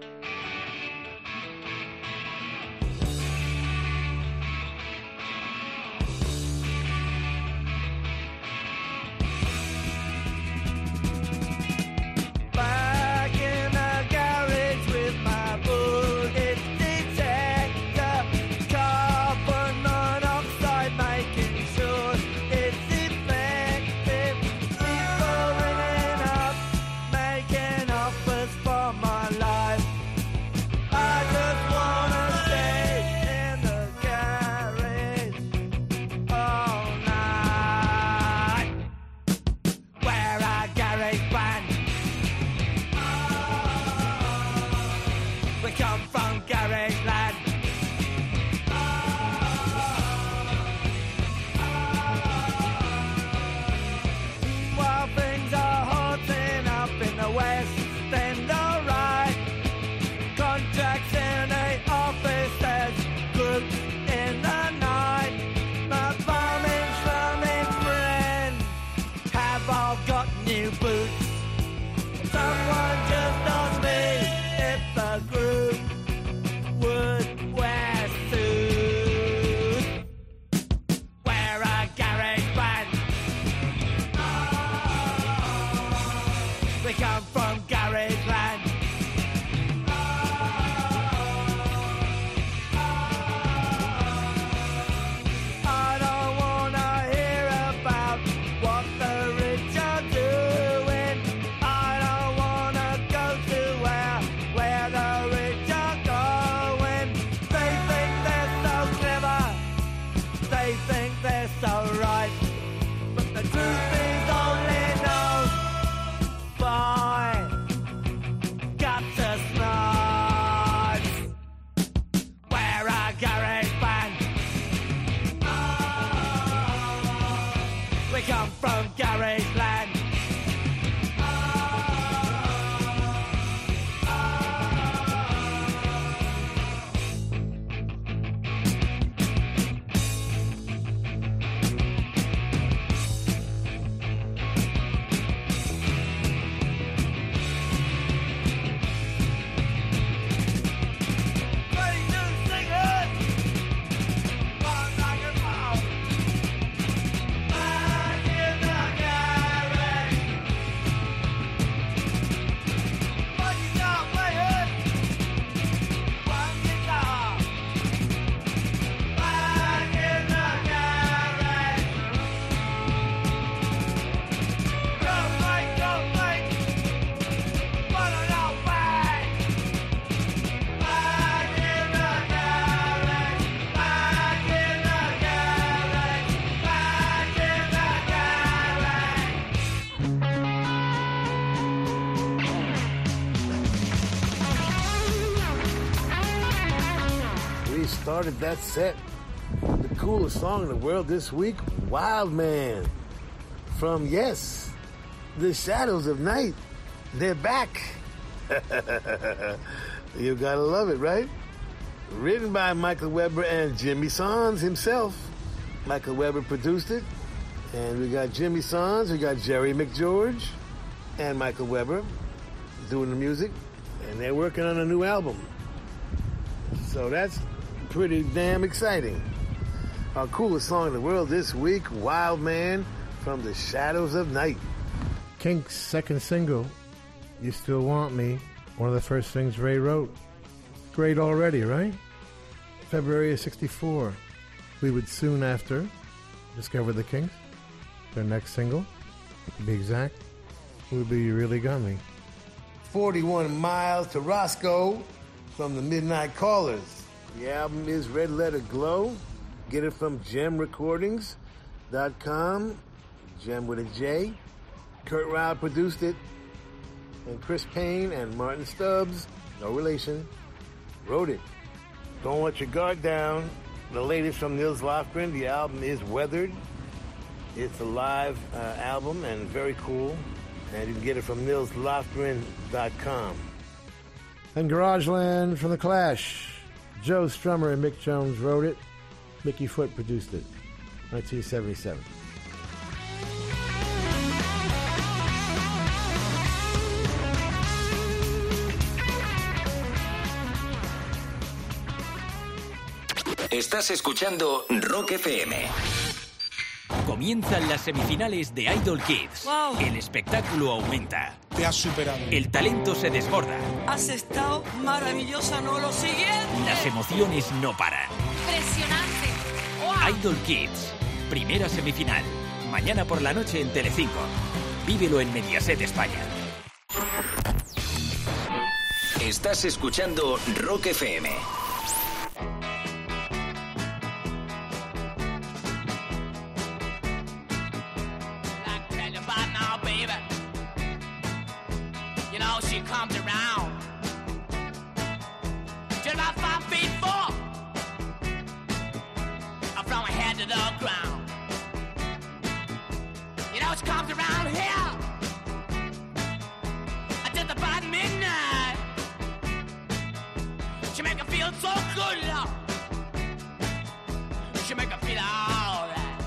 Back in the garage with my bullet detector, carbon monoxide making sure it's effective. People ringing up, making offers for my life. I just wanna stay in the garage all night. We're a garage band. We come from garage land. While things are hotting up in the west end, alright. Contracts in the office, there's groups in the night. My farming, slumming friends have all got new boots. Someone just asked me if the group would wear suits. We're a garage band. We come from garage land. I don't wanna hear about what the rich are doing. started that set. The coolest song in the world this week, Wild Man. From, yes, the Shadows of Night. They're back. You gotta love it, right? Written by Michael Weber and Jimmy Sons himself. Michael Weber produced it. And we got Jimmy Sons, we got Jerry McGeorge and Michael Weber doing the music. And they're working on a new album. So that's pretty damn exciting. Our coolest song in the world this week, Wild Man from the Shadows of Night. Kinks' second single, You Still Want Me, one of the first things Ray wrote. Great already, right? February of 64. We would soon after discover the Kinks. Their next single, to be exact, would be You Really Got Me. 41 Miles to Roscoe from the Midnight Callers. The album is Red Letter Glow. Get it from gemrecordings.com. Gem with a J. Kurt Ryle produced it. And Chris Payne and Martin Stubbs, no relation, wrote it. Don't Let Your Guard Down. The latest from Nils Lofgren. The album is Weathered. It's a live album and very cool. And you can get it from nilslofgren.com. And Garageland from The Clash. Joe Strummer and Mick Jones wrote it. Mickey Foote produced it. 1977. Estás escuchando Rock FM. Comienzan las semifinales de Idol Kids. Wow. El espectáculo aumenta. Te has superado. El talento se desborda. Has estado maravillosa, ¿no? Lo siguiente. Las emociones no paran. Impresionante. Wow. Idol Kids. Primera semifinal. Mañana por la noche en Telecinco. Vívelo en Mediaset España. Estás escuchando Rock FM. She comes around just about 5 feet 4 from her head to the ground. You know she comes around here just about midnight. She make her feel so good, love. She make her feel alright.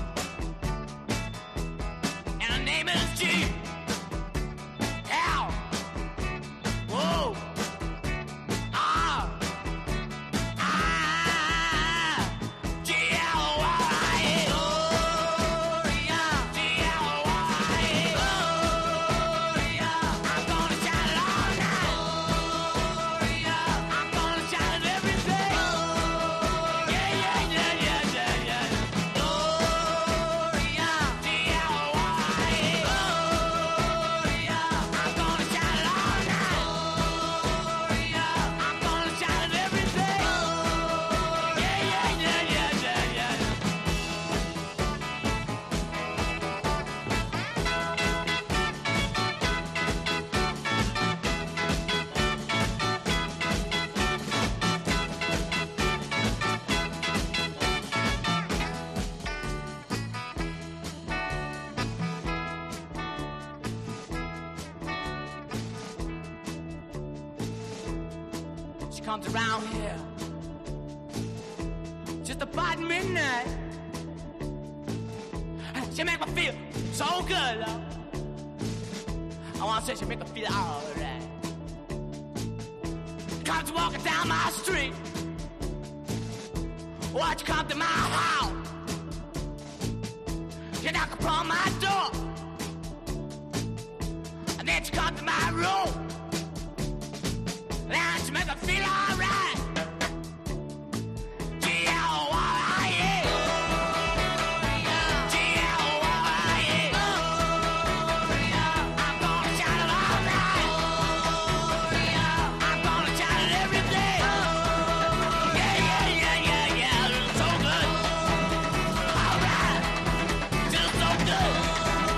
And her name is G. Whoa! Ah! Ah! G-L-Y! Gloria! G-L-Y! Gloria! I'm gonna shout it all night! Gloria! I'm gonna shout it every day! Yeah, yeah, yeah, yeah, yeah, yeah! Gloria! G-L-Y! Gloria! I'm gonna shout it all night! She comes around here just about midnight. She make me feel so good, love. I wanna say she make me feel alright. Comes walking down my street. Watch you come to my house. You knock upon my door. And then she come to my room. Now she make me feel alright. G-L-Y-A. G-L-Y-A. I'm gonna shout it all night. I'm gonna shout it every day. Yeah, yeah, yeah, yeah, yeah. So good. Alright. Just so good.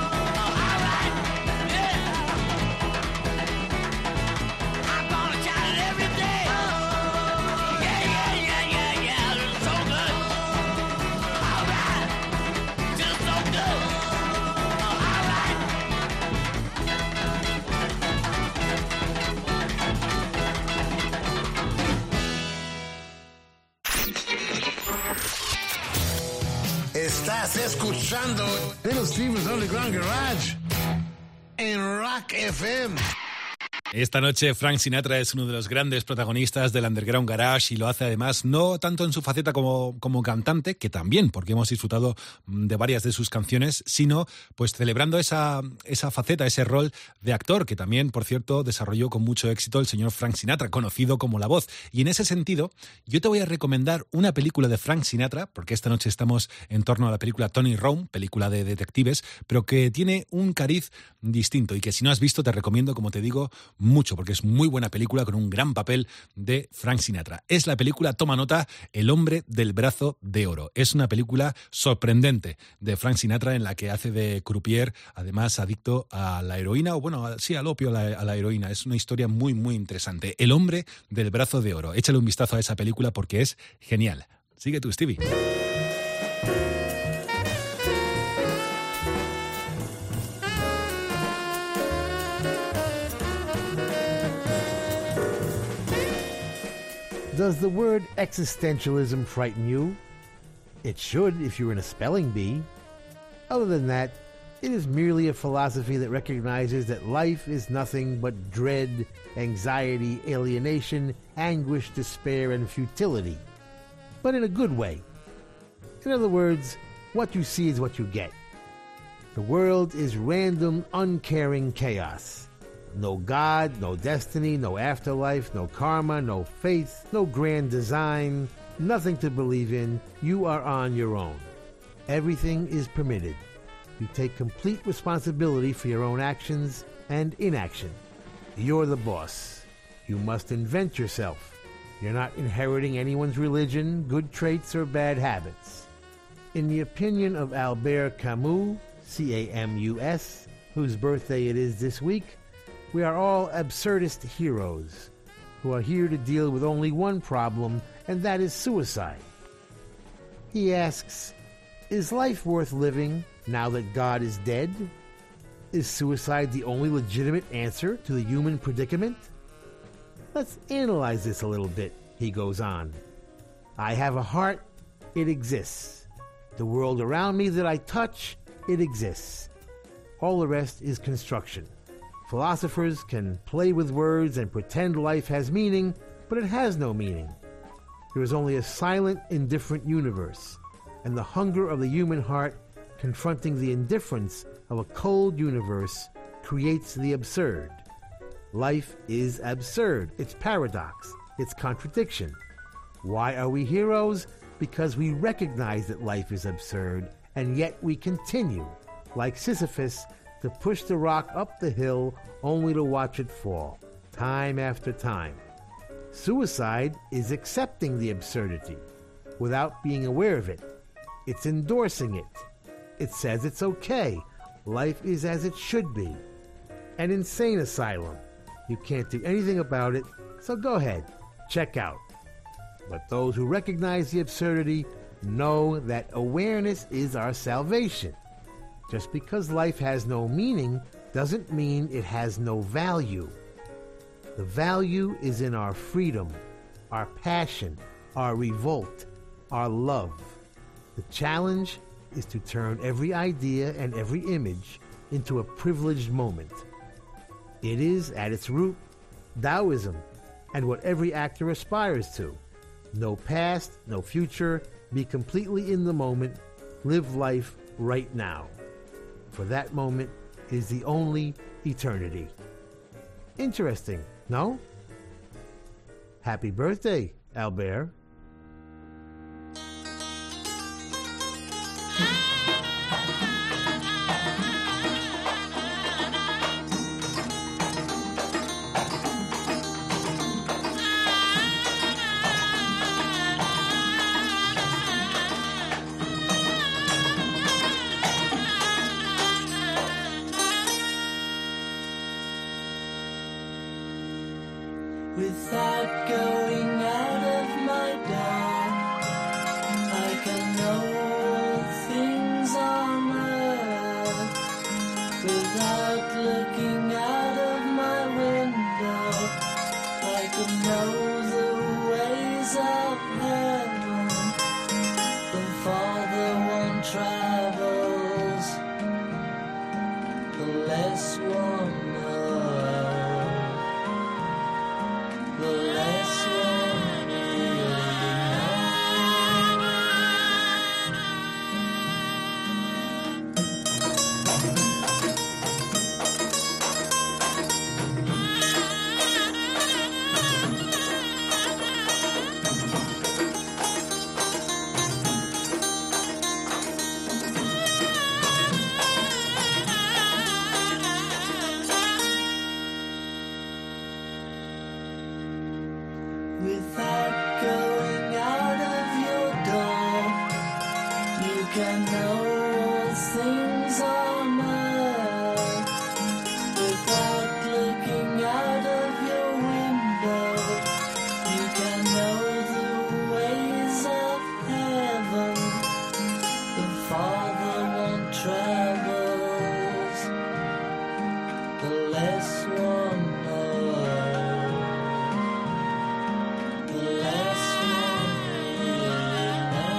Estás escuchando Little Steven's Underground Garage en Rock FM. Esta noche Frank Sinatra es uno de los grandes protagonistas del Underground Garage y lo hace además no tanto en su faceta como cantante, que también, porque hemos disfrutado de varias de sus canciones, sino pues celebrando esa faceta, ese rol de actor que también, por cierto, desarrolló con mucho éxito el señor Frank Sinatra, conocido como La Voz. Y en ese sentido, yo te voy a recomendar una película de Frank Sinatra, porque esta noche estamos en torno a la película Tony Rome, película de detectives, pero que tiene un cariz distinto y que si no has visto te recomiendo, como te digo, mucho, porque es muy buena película con un gran papel de Frank Sinatra. Es la película, toma nota, El hombre del brazo de oro. Es una película sorprendente de Frank Sinatra en la que hace de croupier, además adicto a la heroína, o bueno, sí, al opio, a la heroína. Es una historia muy, muy interesante. El hombre del brazo de oro. Échale un vistazo a esa película porque es genial. Sigue tú, Stevie. Does the word existentialism frighten you? It should if you're in a spelling bee. Other than that, it is merely a philosophy that recognizes that life is nothing but dread, anxiety, alienation, anguish, despair, and futility. But in a good way. In other words, what you see is what you get. The world is random, uncaring chaos. No God, no destiny, no afterlife, no karma, no faith, no grand design, nothing to believe in. You are on your own. Everything is permitted. You take complete responsibility for your own actions and inaction. You're the boss. You must invent yourself. You're not inheriting anyone's religion, good traits, or bad habits. In the opinion of Albert Camus, C-A-M-U-S, whose birthday it is this week, we are all absurdist heroes who are here to deal with only one problem, and that is suicide. He asks, is life worth living now that God is dead? Is suicide the only legitimate answer to the human predicament? Let's analyze this a little bit, he goes on. I have a heart, it exists. The world around me that I touch, it exists. All the rest is construction. Philosophers can play with words and pretend life has meaning, but it has no meaning. There is only a silent, indifferent universe, and the hunger of the human heart confronting the indifference of a cold universe creates the absurd. Life is absurd. It's paradox. It's contradiction. Why are we heroes? Because we recognize that life is absurd, and yet we continue, like Sisyphus, to push the rock up the hill only to watch it fall, time after time. Suicide is accepting the absurdity without being aware of it. It's endorsing it. It says it's okay. Life is as it should be. An insane asylum. You can't do anything about it, so go ahead, check out. But those who recognize the absurdity know that awareness is our salvation. Just because life has no meaning doesn't mean it has no value. The value is in our freedom, our passion, our revolt, our love. The challenge is to turn every idea and every image into a privileged moment. It is, at its root, Taoism, and what every actor aspires to. No past, no future, be completely in the moment, live life right now. For that moment is the only eternity. Interesting, no? Happy birthday, Albert. Without going out of my door, I can know things on earth. Without looking out of my window, I can know the ways of heaven. The Father won't try without going out of your door. You can know all things are mine without looking out of your window. You can know the ways of heaven. The farther one travels, the less one knows. The less one really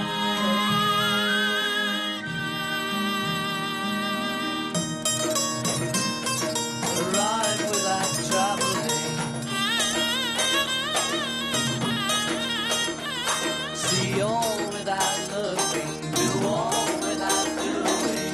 knows. Arrive without traveling. See all without looking. Do all without doing.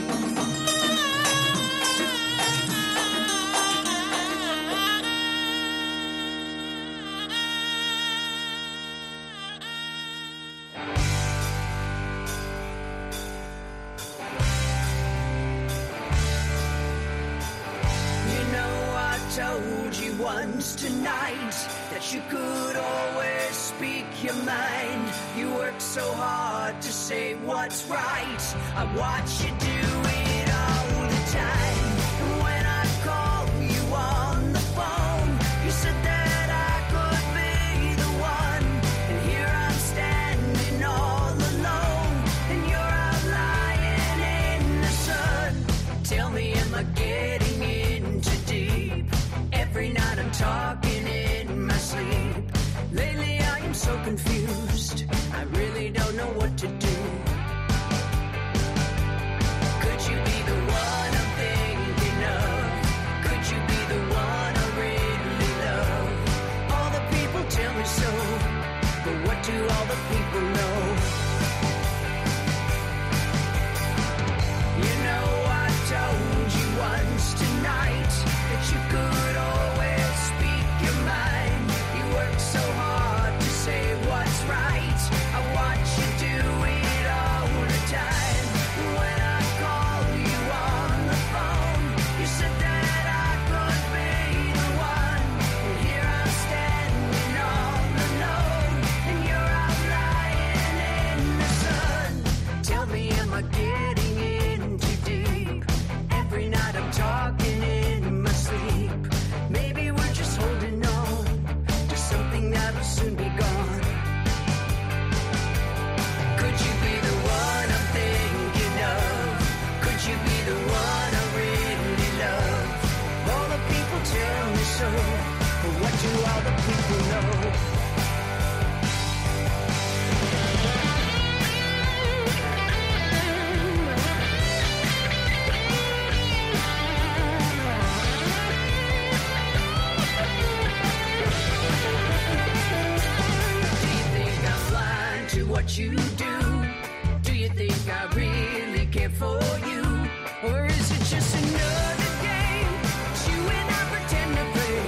You know I told you once tonight that you could always speak your mind. You work so hard to say what's right. I watch you do it all the time. And when I call you on the phone, you said that I could be the one. And here I'm standing all alone, and you're out lying in the sun. Tell me, am I getting in too deep? Every night I'm talking in my sleep. Lately I am so confused, I really don't know what to do. Could you be the one I'm thinking of? Could you be the one I really love? All the people tell me so, but what do all the people know? You know I told you once tonight that you could always speak your mind. You work so hard to say what's right. I watch you do it all the time. When I call you on the phone, you said that I could be the one. And here I'm standing all alone, and you're out lying in the sun. Tell me, am I getting in too deep? Every night I'm talking in my sleep. Maybe we're just holding on to something that'll soon be gone. Could you be the one I'm thinking of? Could you be the one I really love? All the people tell me so, but what do all the people know? Do you think I'm blind to what you do? Do you think I really care for you? Or is it just another game that you and I pretend to play?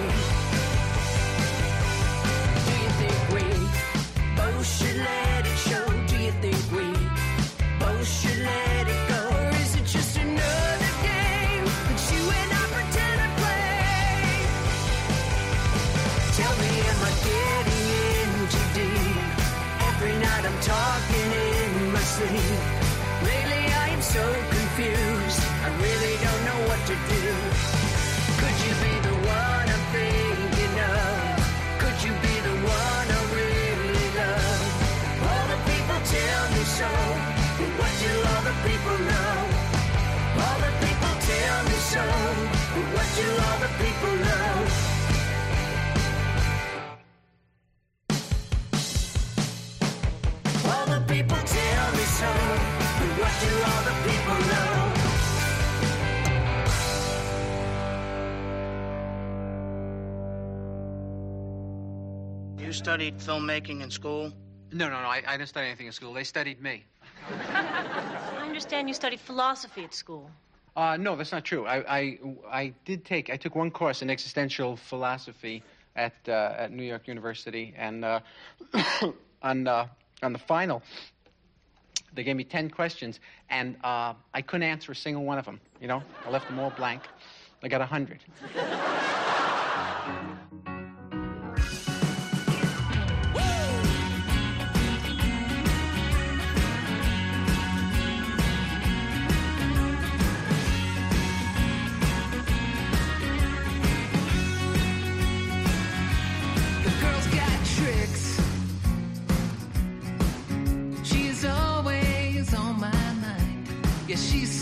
Do you think we both should let it show? Do you think we both should let it go? Or is it just another game that you and I pretend to play? Tell me, am I getting in too deep? Every night I'm talking in my sleep. Lately I am so confused, I really don't know what to do. Could you be the one I'm thinking of? Could you be the one I really love? All the people tell me so, but what do all the people know? All the people tell me so, but what do all the people know? All the people tell me so, but what do all the people know? You studied filmmaking in school? No, I didn't study anything in school. They studied me. I understand you studied philosophy at school. No, that's not true. I took one course in existential philosophy at New York University, and on the final, they gave me 10 questions, and I couldn't answer a single one of them. You know, I left them all blank. I got 100. Well,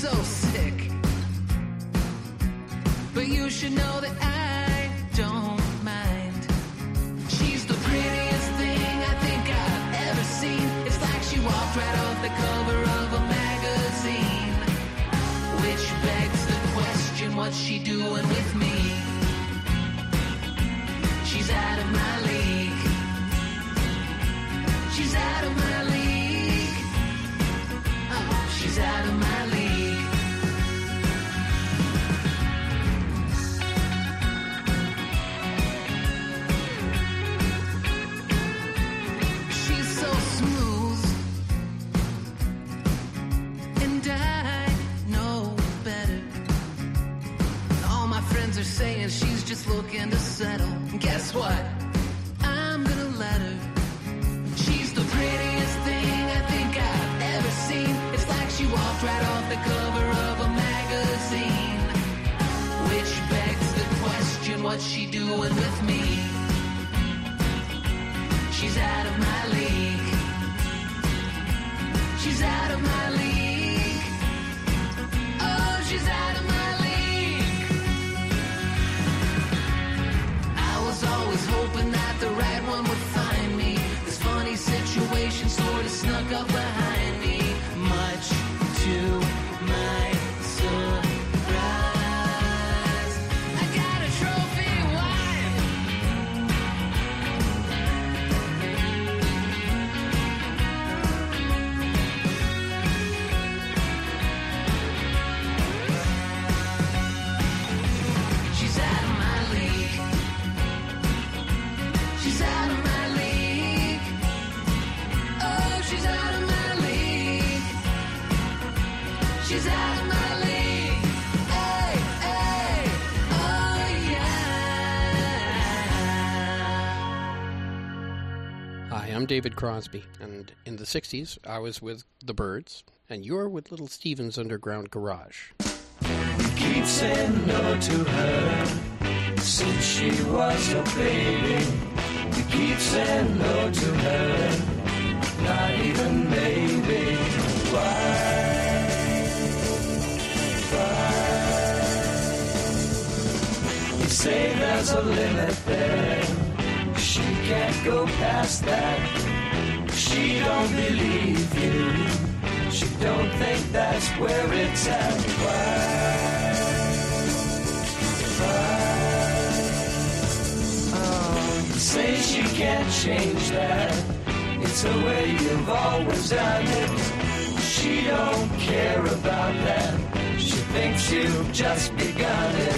so sick. But you should know that I don't mind. She's the prettiest thing I think I've ever seen. It's like she walked right off the cover of a magazine. Which begs the question, what's she doing with me? She's out of my league. She's out of my league. Oh, she's out of my league. She's so smooth, and I know better. All my friends are saying she's just looking to settle. And guess what? I'm gonna let her. She's the prettiest thing I think I've ever seen. It's like she walked right off the cover of a magazine. Which begs the question, what's she doing with me? She's out of my league. She's out of my league. Oh, she's out of my league. I was always hoping that the right one would find me. This funny situation sort of snuck up behind me. Much to my surprise, I got a trophy wife. She's out of my league. She's out of my league. Oh, she's out of my league. She's out of my league. Hey, hey, oh yeah. Hi, I'm David Crosby, and in the 60s, I was with the Byrds, and you're with Little Steven's Underground Garage. Keep saying no to her since she was a baby. We keep saying no to her, not even maybe. Why? You say there's a limit there. She can't go past that. She don't believe you. She don't think that's where it's at. Say she can't change that. It's the way you've always done it. She don't care about that. She thinks you've just begun it.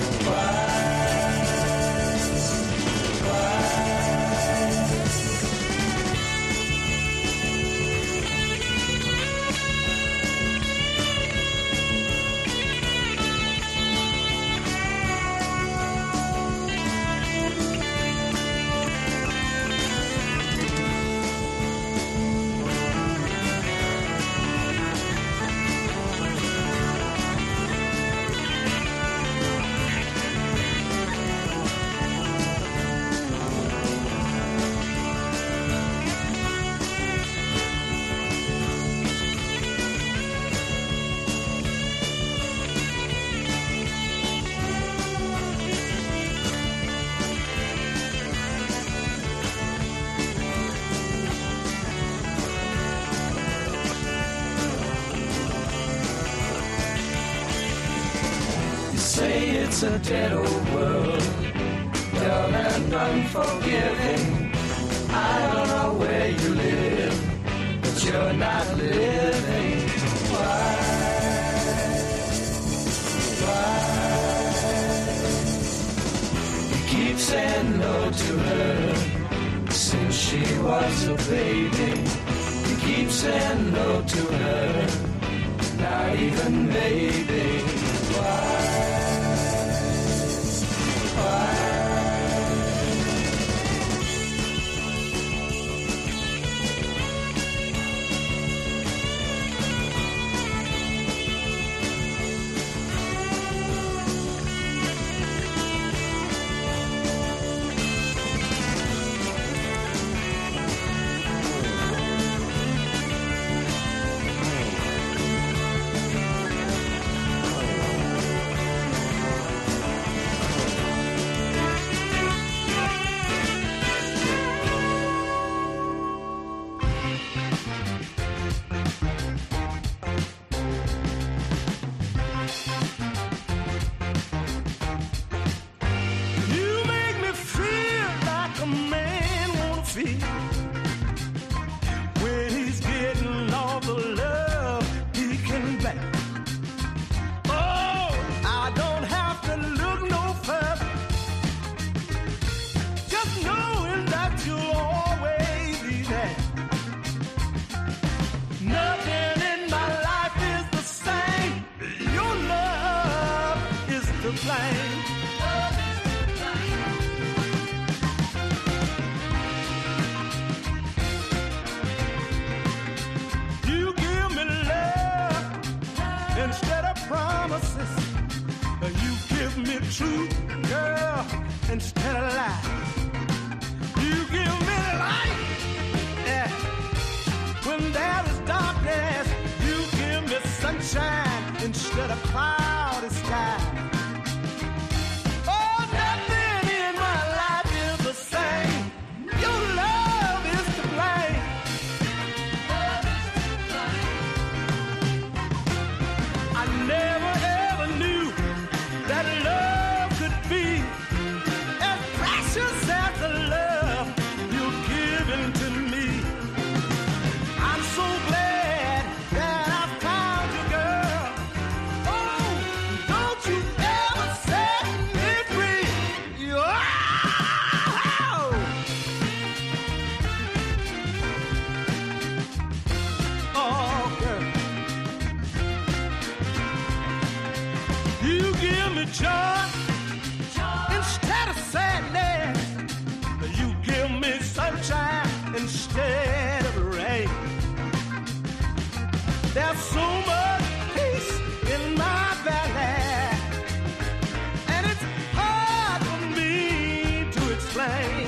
It's a dead old world, dull and unforgiving. I don't know where you live, but you're not living. Why? You keep saying no to her since she was a baby. You keep saying no to her, not even maybe. Why? flame. You give me love instead of promises. You give me truth, girl, instead of lies. You give me light, yeah. When there is darkness, you give me sunshine instead of cloudy sky. Oh, nothing in my life is the same. Your love is to blame. I never ever knew that love could be as precious as the love you're giving to me. I'm so glad that I found you, girl. Oh, don't you ever set me free. Oh, girl. You give me joy instead of sadness. You give me sunshine instead of rain. There's so much peace in my valley, and it's hard for me to explain.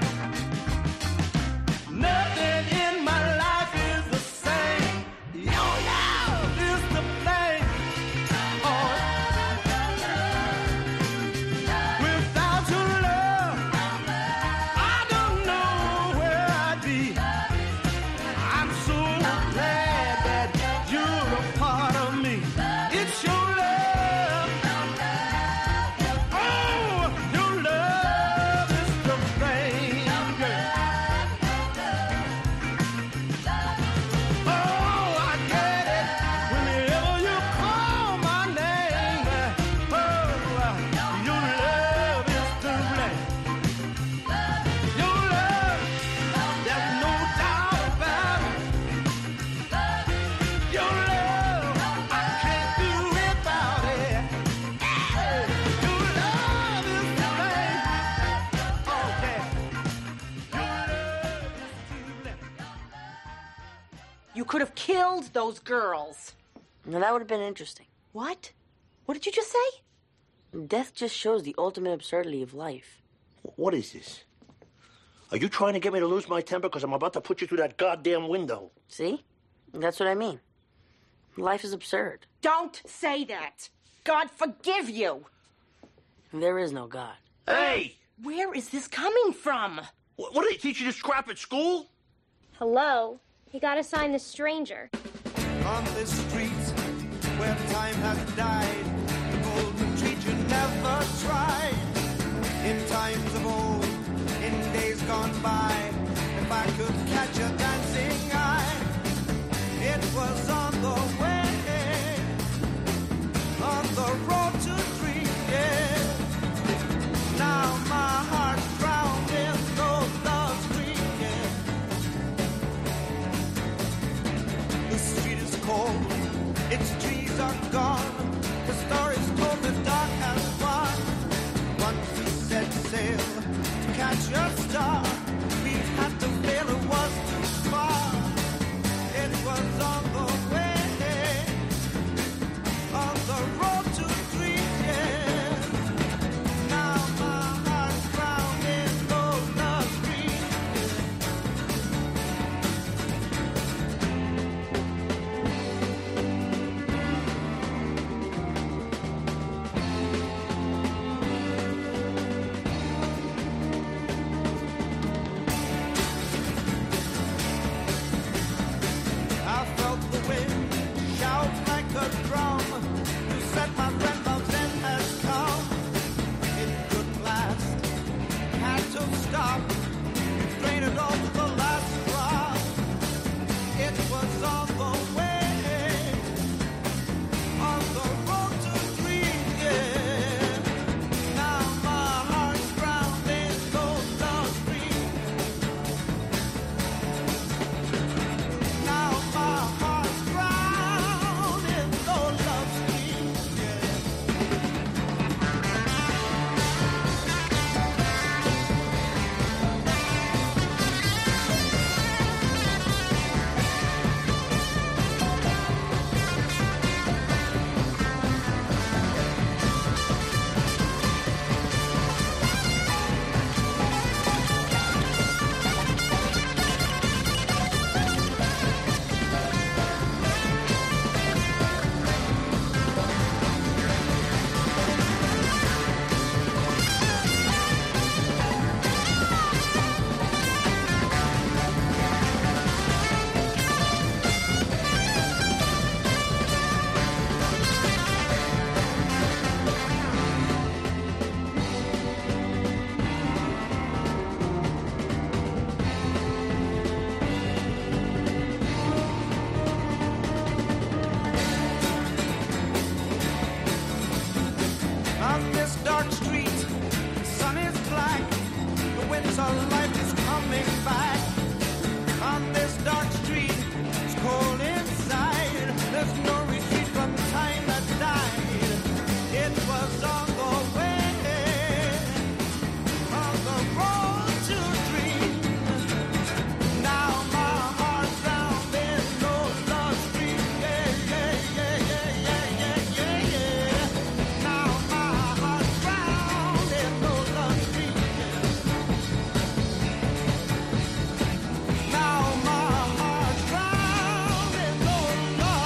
Nothing in my life is the same. Your love is the blame. Oh, without your love, I don't know where I'd be. I'm so glad that you're a part of me. It's your love. Oh, your love is the flame, girl. Oh, I get it whenever you call my name. Oh, your love is the flame. Your love, there's no doubt about it. Your love, I can't do without it. Your love is the flame. Oh, yeah. Your love is the flame. You could have killed those girls. Now that would have been interesting. What? What did you just say? Death just shows the ultimate absurdity of life. What is this? Are you trying to get me to lose my temper because I'm about to put you through that goddamn window? See? That's what I mean. Life is absurd. Don't say that. God forgive you. There is no God. Hey! Where is this coming from? What do they teach you this crap at school? Hello? You gotta sign the stranger. On this street where time has died, the golden treat you never tried. In times of old, in days gone by, if I could catch a dancing eye, it was on the way, on the road to dream, yeah. Now my heart's drowned in those love's dream, yeah. The street is cold, its trees are gone, the story's told the dark has won. Once we set sail to catch a star, we had to fail, it was too far. It was on the way, on the road to dreams, yeah. Now my heart's drowned in those love dreams. coming back on this dark street. It's cold inside. There's no retreat from time that died. It was on the way, on the road to dreams. Now my heart's found in those lost streets. Yeah, yeah, yeah, yeah, yeah, yeah, yeah, yeah. Now my heart's found in those lost streets. Now my heart's found in those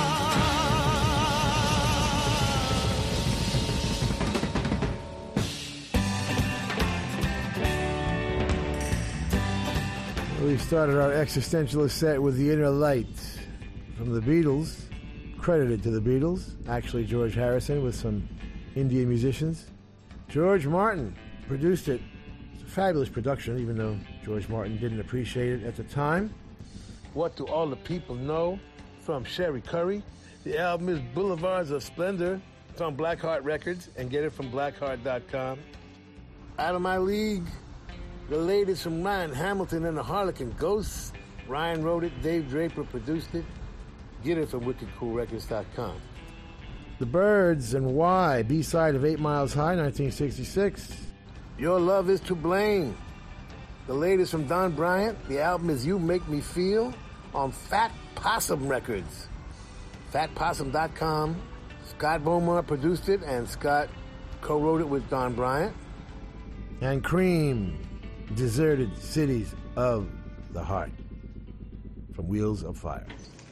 We started our existentialist set with The Inner Light from the Beatles, credited to the Beatles, actually George Harrison with some Indian musicians. George Martin produced it. It's a fabulous production, even though George Martin didn't appreciate it at the time. What Do All the People Know from Sherry Curry. The album is Boulevards of Splendor. It's on Blackheart Records, and get it from blackheart.com. Out of My League, the latest from Ryan Hamilton and the Harlequin Ghosts. Ryan wrote it, Dave Draper produced it. Get it from wickedcoolrecords.com. The Byrds and Why, B-side of 8 Miles High, 1966. Your Love Is to Blame. The latest from Don Bryant. The album is You Make Me Feel on Fat Possum Records. FatPossum.com. Scott Beaumont produced it, and Scott co-wrote it with Don Bryant. And Cream, Deserted Cities of the Heart from Wheels of Fire.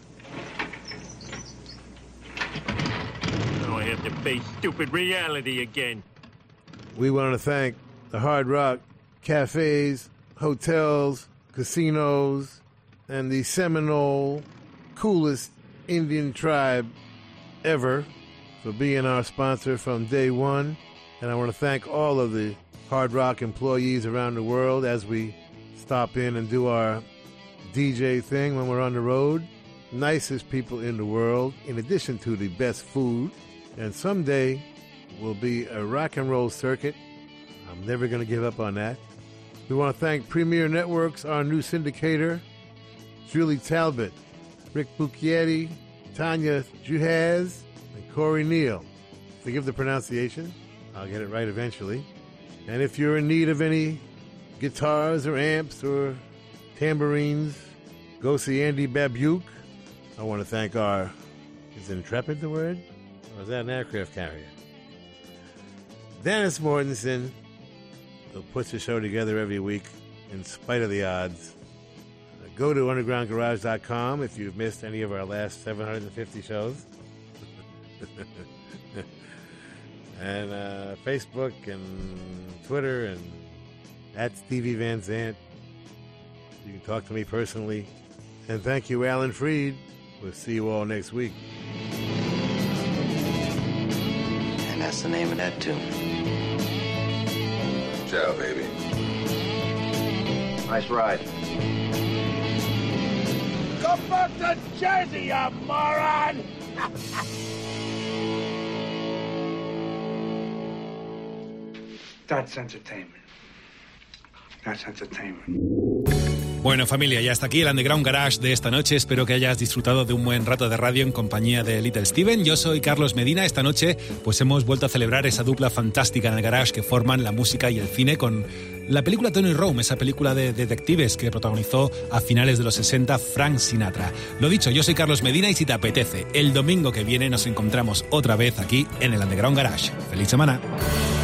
Now I have to face stupid reality again. We want to thank the Hard Rock cafes, hotels, casinos, and the Seminole coolest Indian tribe ever for being our sponsor from day one. And I want to thank all of the Hard Rock employees around the world as we stop in and do our DJ thing when we're on the road. Nicest people in the world, in addition to the best food. And someday will be a rock and roll circuit. I'm never going to give up on that. We want to thank Premier Networks, our new syndicator, Julie Talbot, Rick Bucchietti, Tanya Juhaz, and Corey Neal. Forgive the pronunciation. I'll get it right eventually. And if you're in need of any guitars or amps or tambourines, go see Andy Babuke. I want to thank our, is Intrepid the word? Or is that an aircraft carrier? Dennis Mortensen, who puts the show together every week in spite of the odds. Go to undergroundgarage.com if you've missed any of our last 750 shows. And Facebook and Twitter and at Stevie Van Zandt. You can talk to me personally. And thank you, Alan Freed. We'll see you all next week. And that's the name of that tune. Ciao, baby. Nice ride. Go back to Jersey, you moron! That's entertainment. That's entertainment. Bueno, familia, ya está aquí el Underground Garage de esta noche. Espero que hayas disfrutado de un buen rato de radio en compañía de Little Steven. Yo soy Carlos Medina. Esta noche pues hemos vuelto a celebrar esa dupla fantástica en el garage que forman la música y el cine con la película Tony Rome, esa película de detectives que protagonizó a finales de los 60 Frank Sinatra. Lo dicho, yo soy Carlos Medina y si te apetece, el domingo que viene nos encontramos otra vez aquí en el Underground Garage. ¡Feliz semana!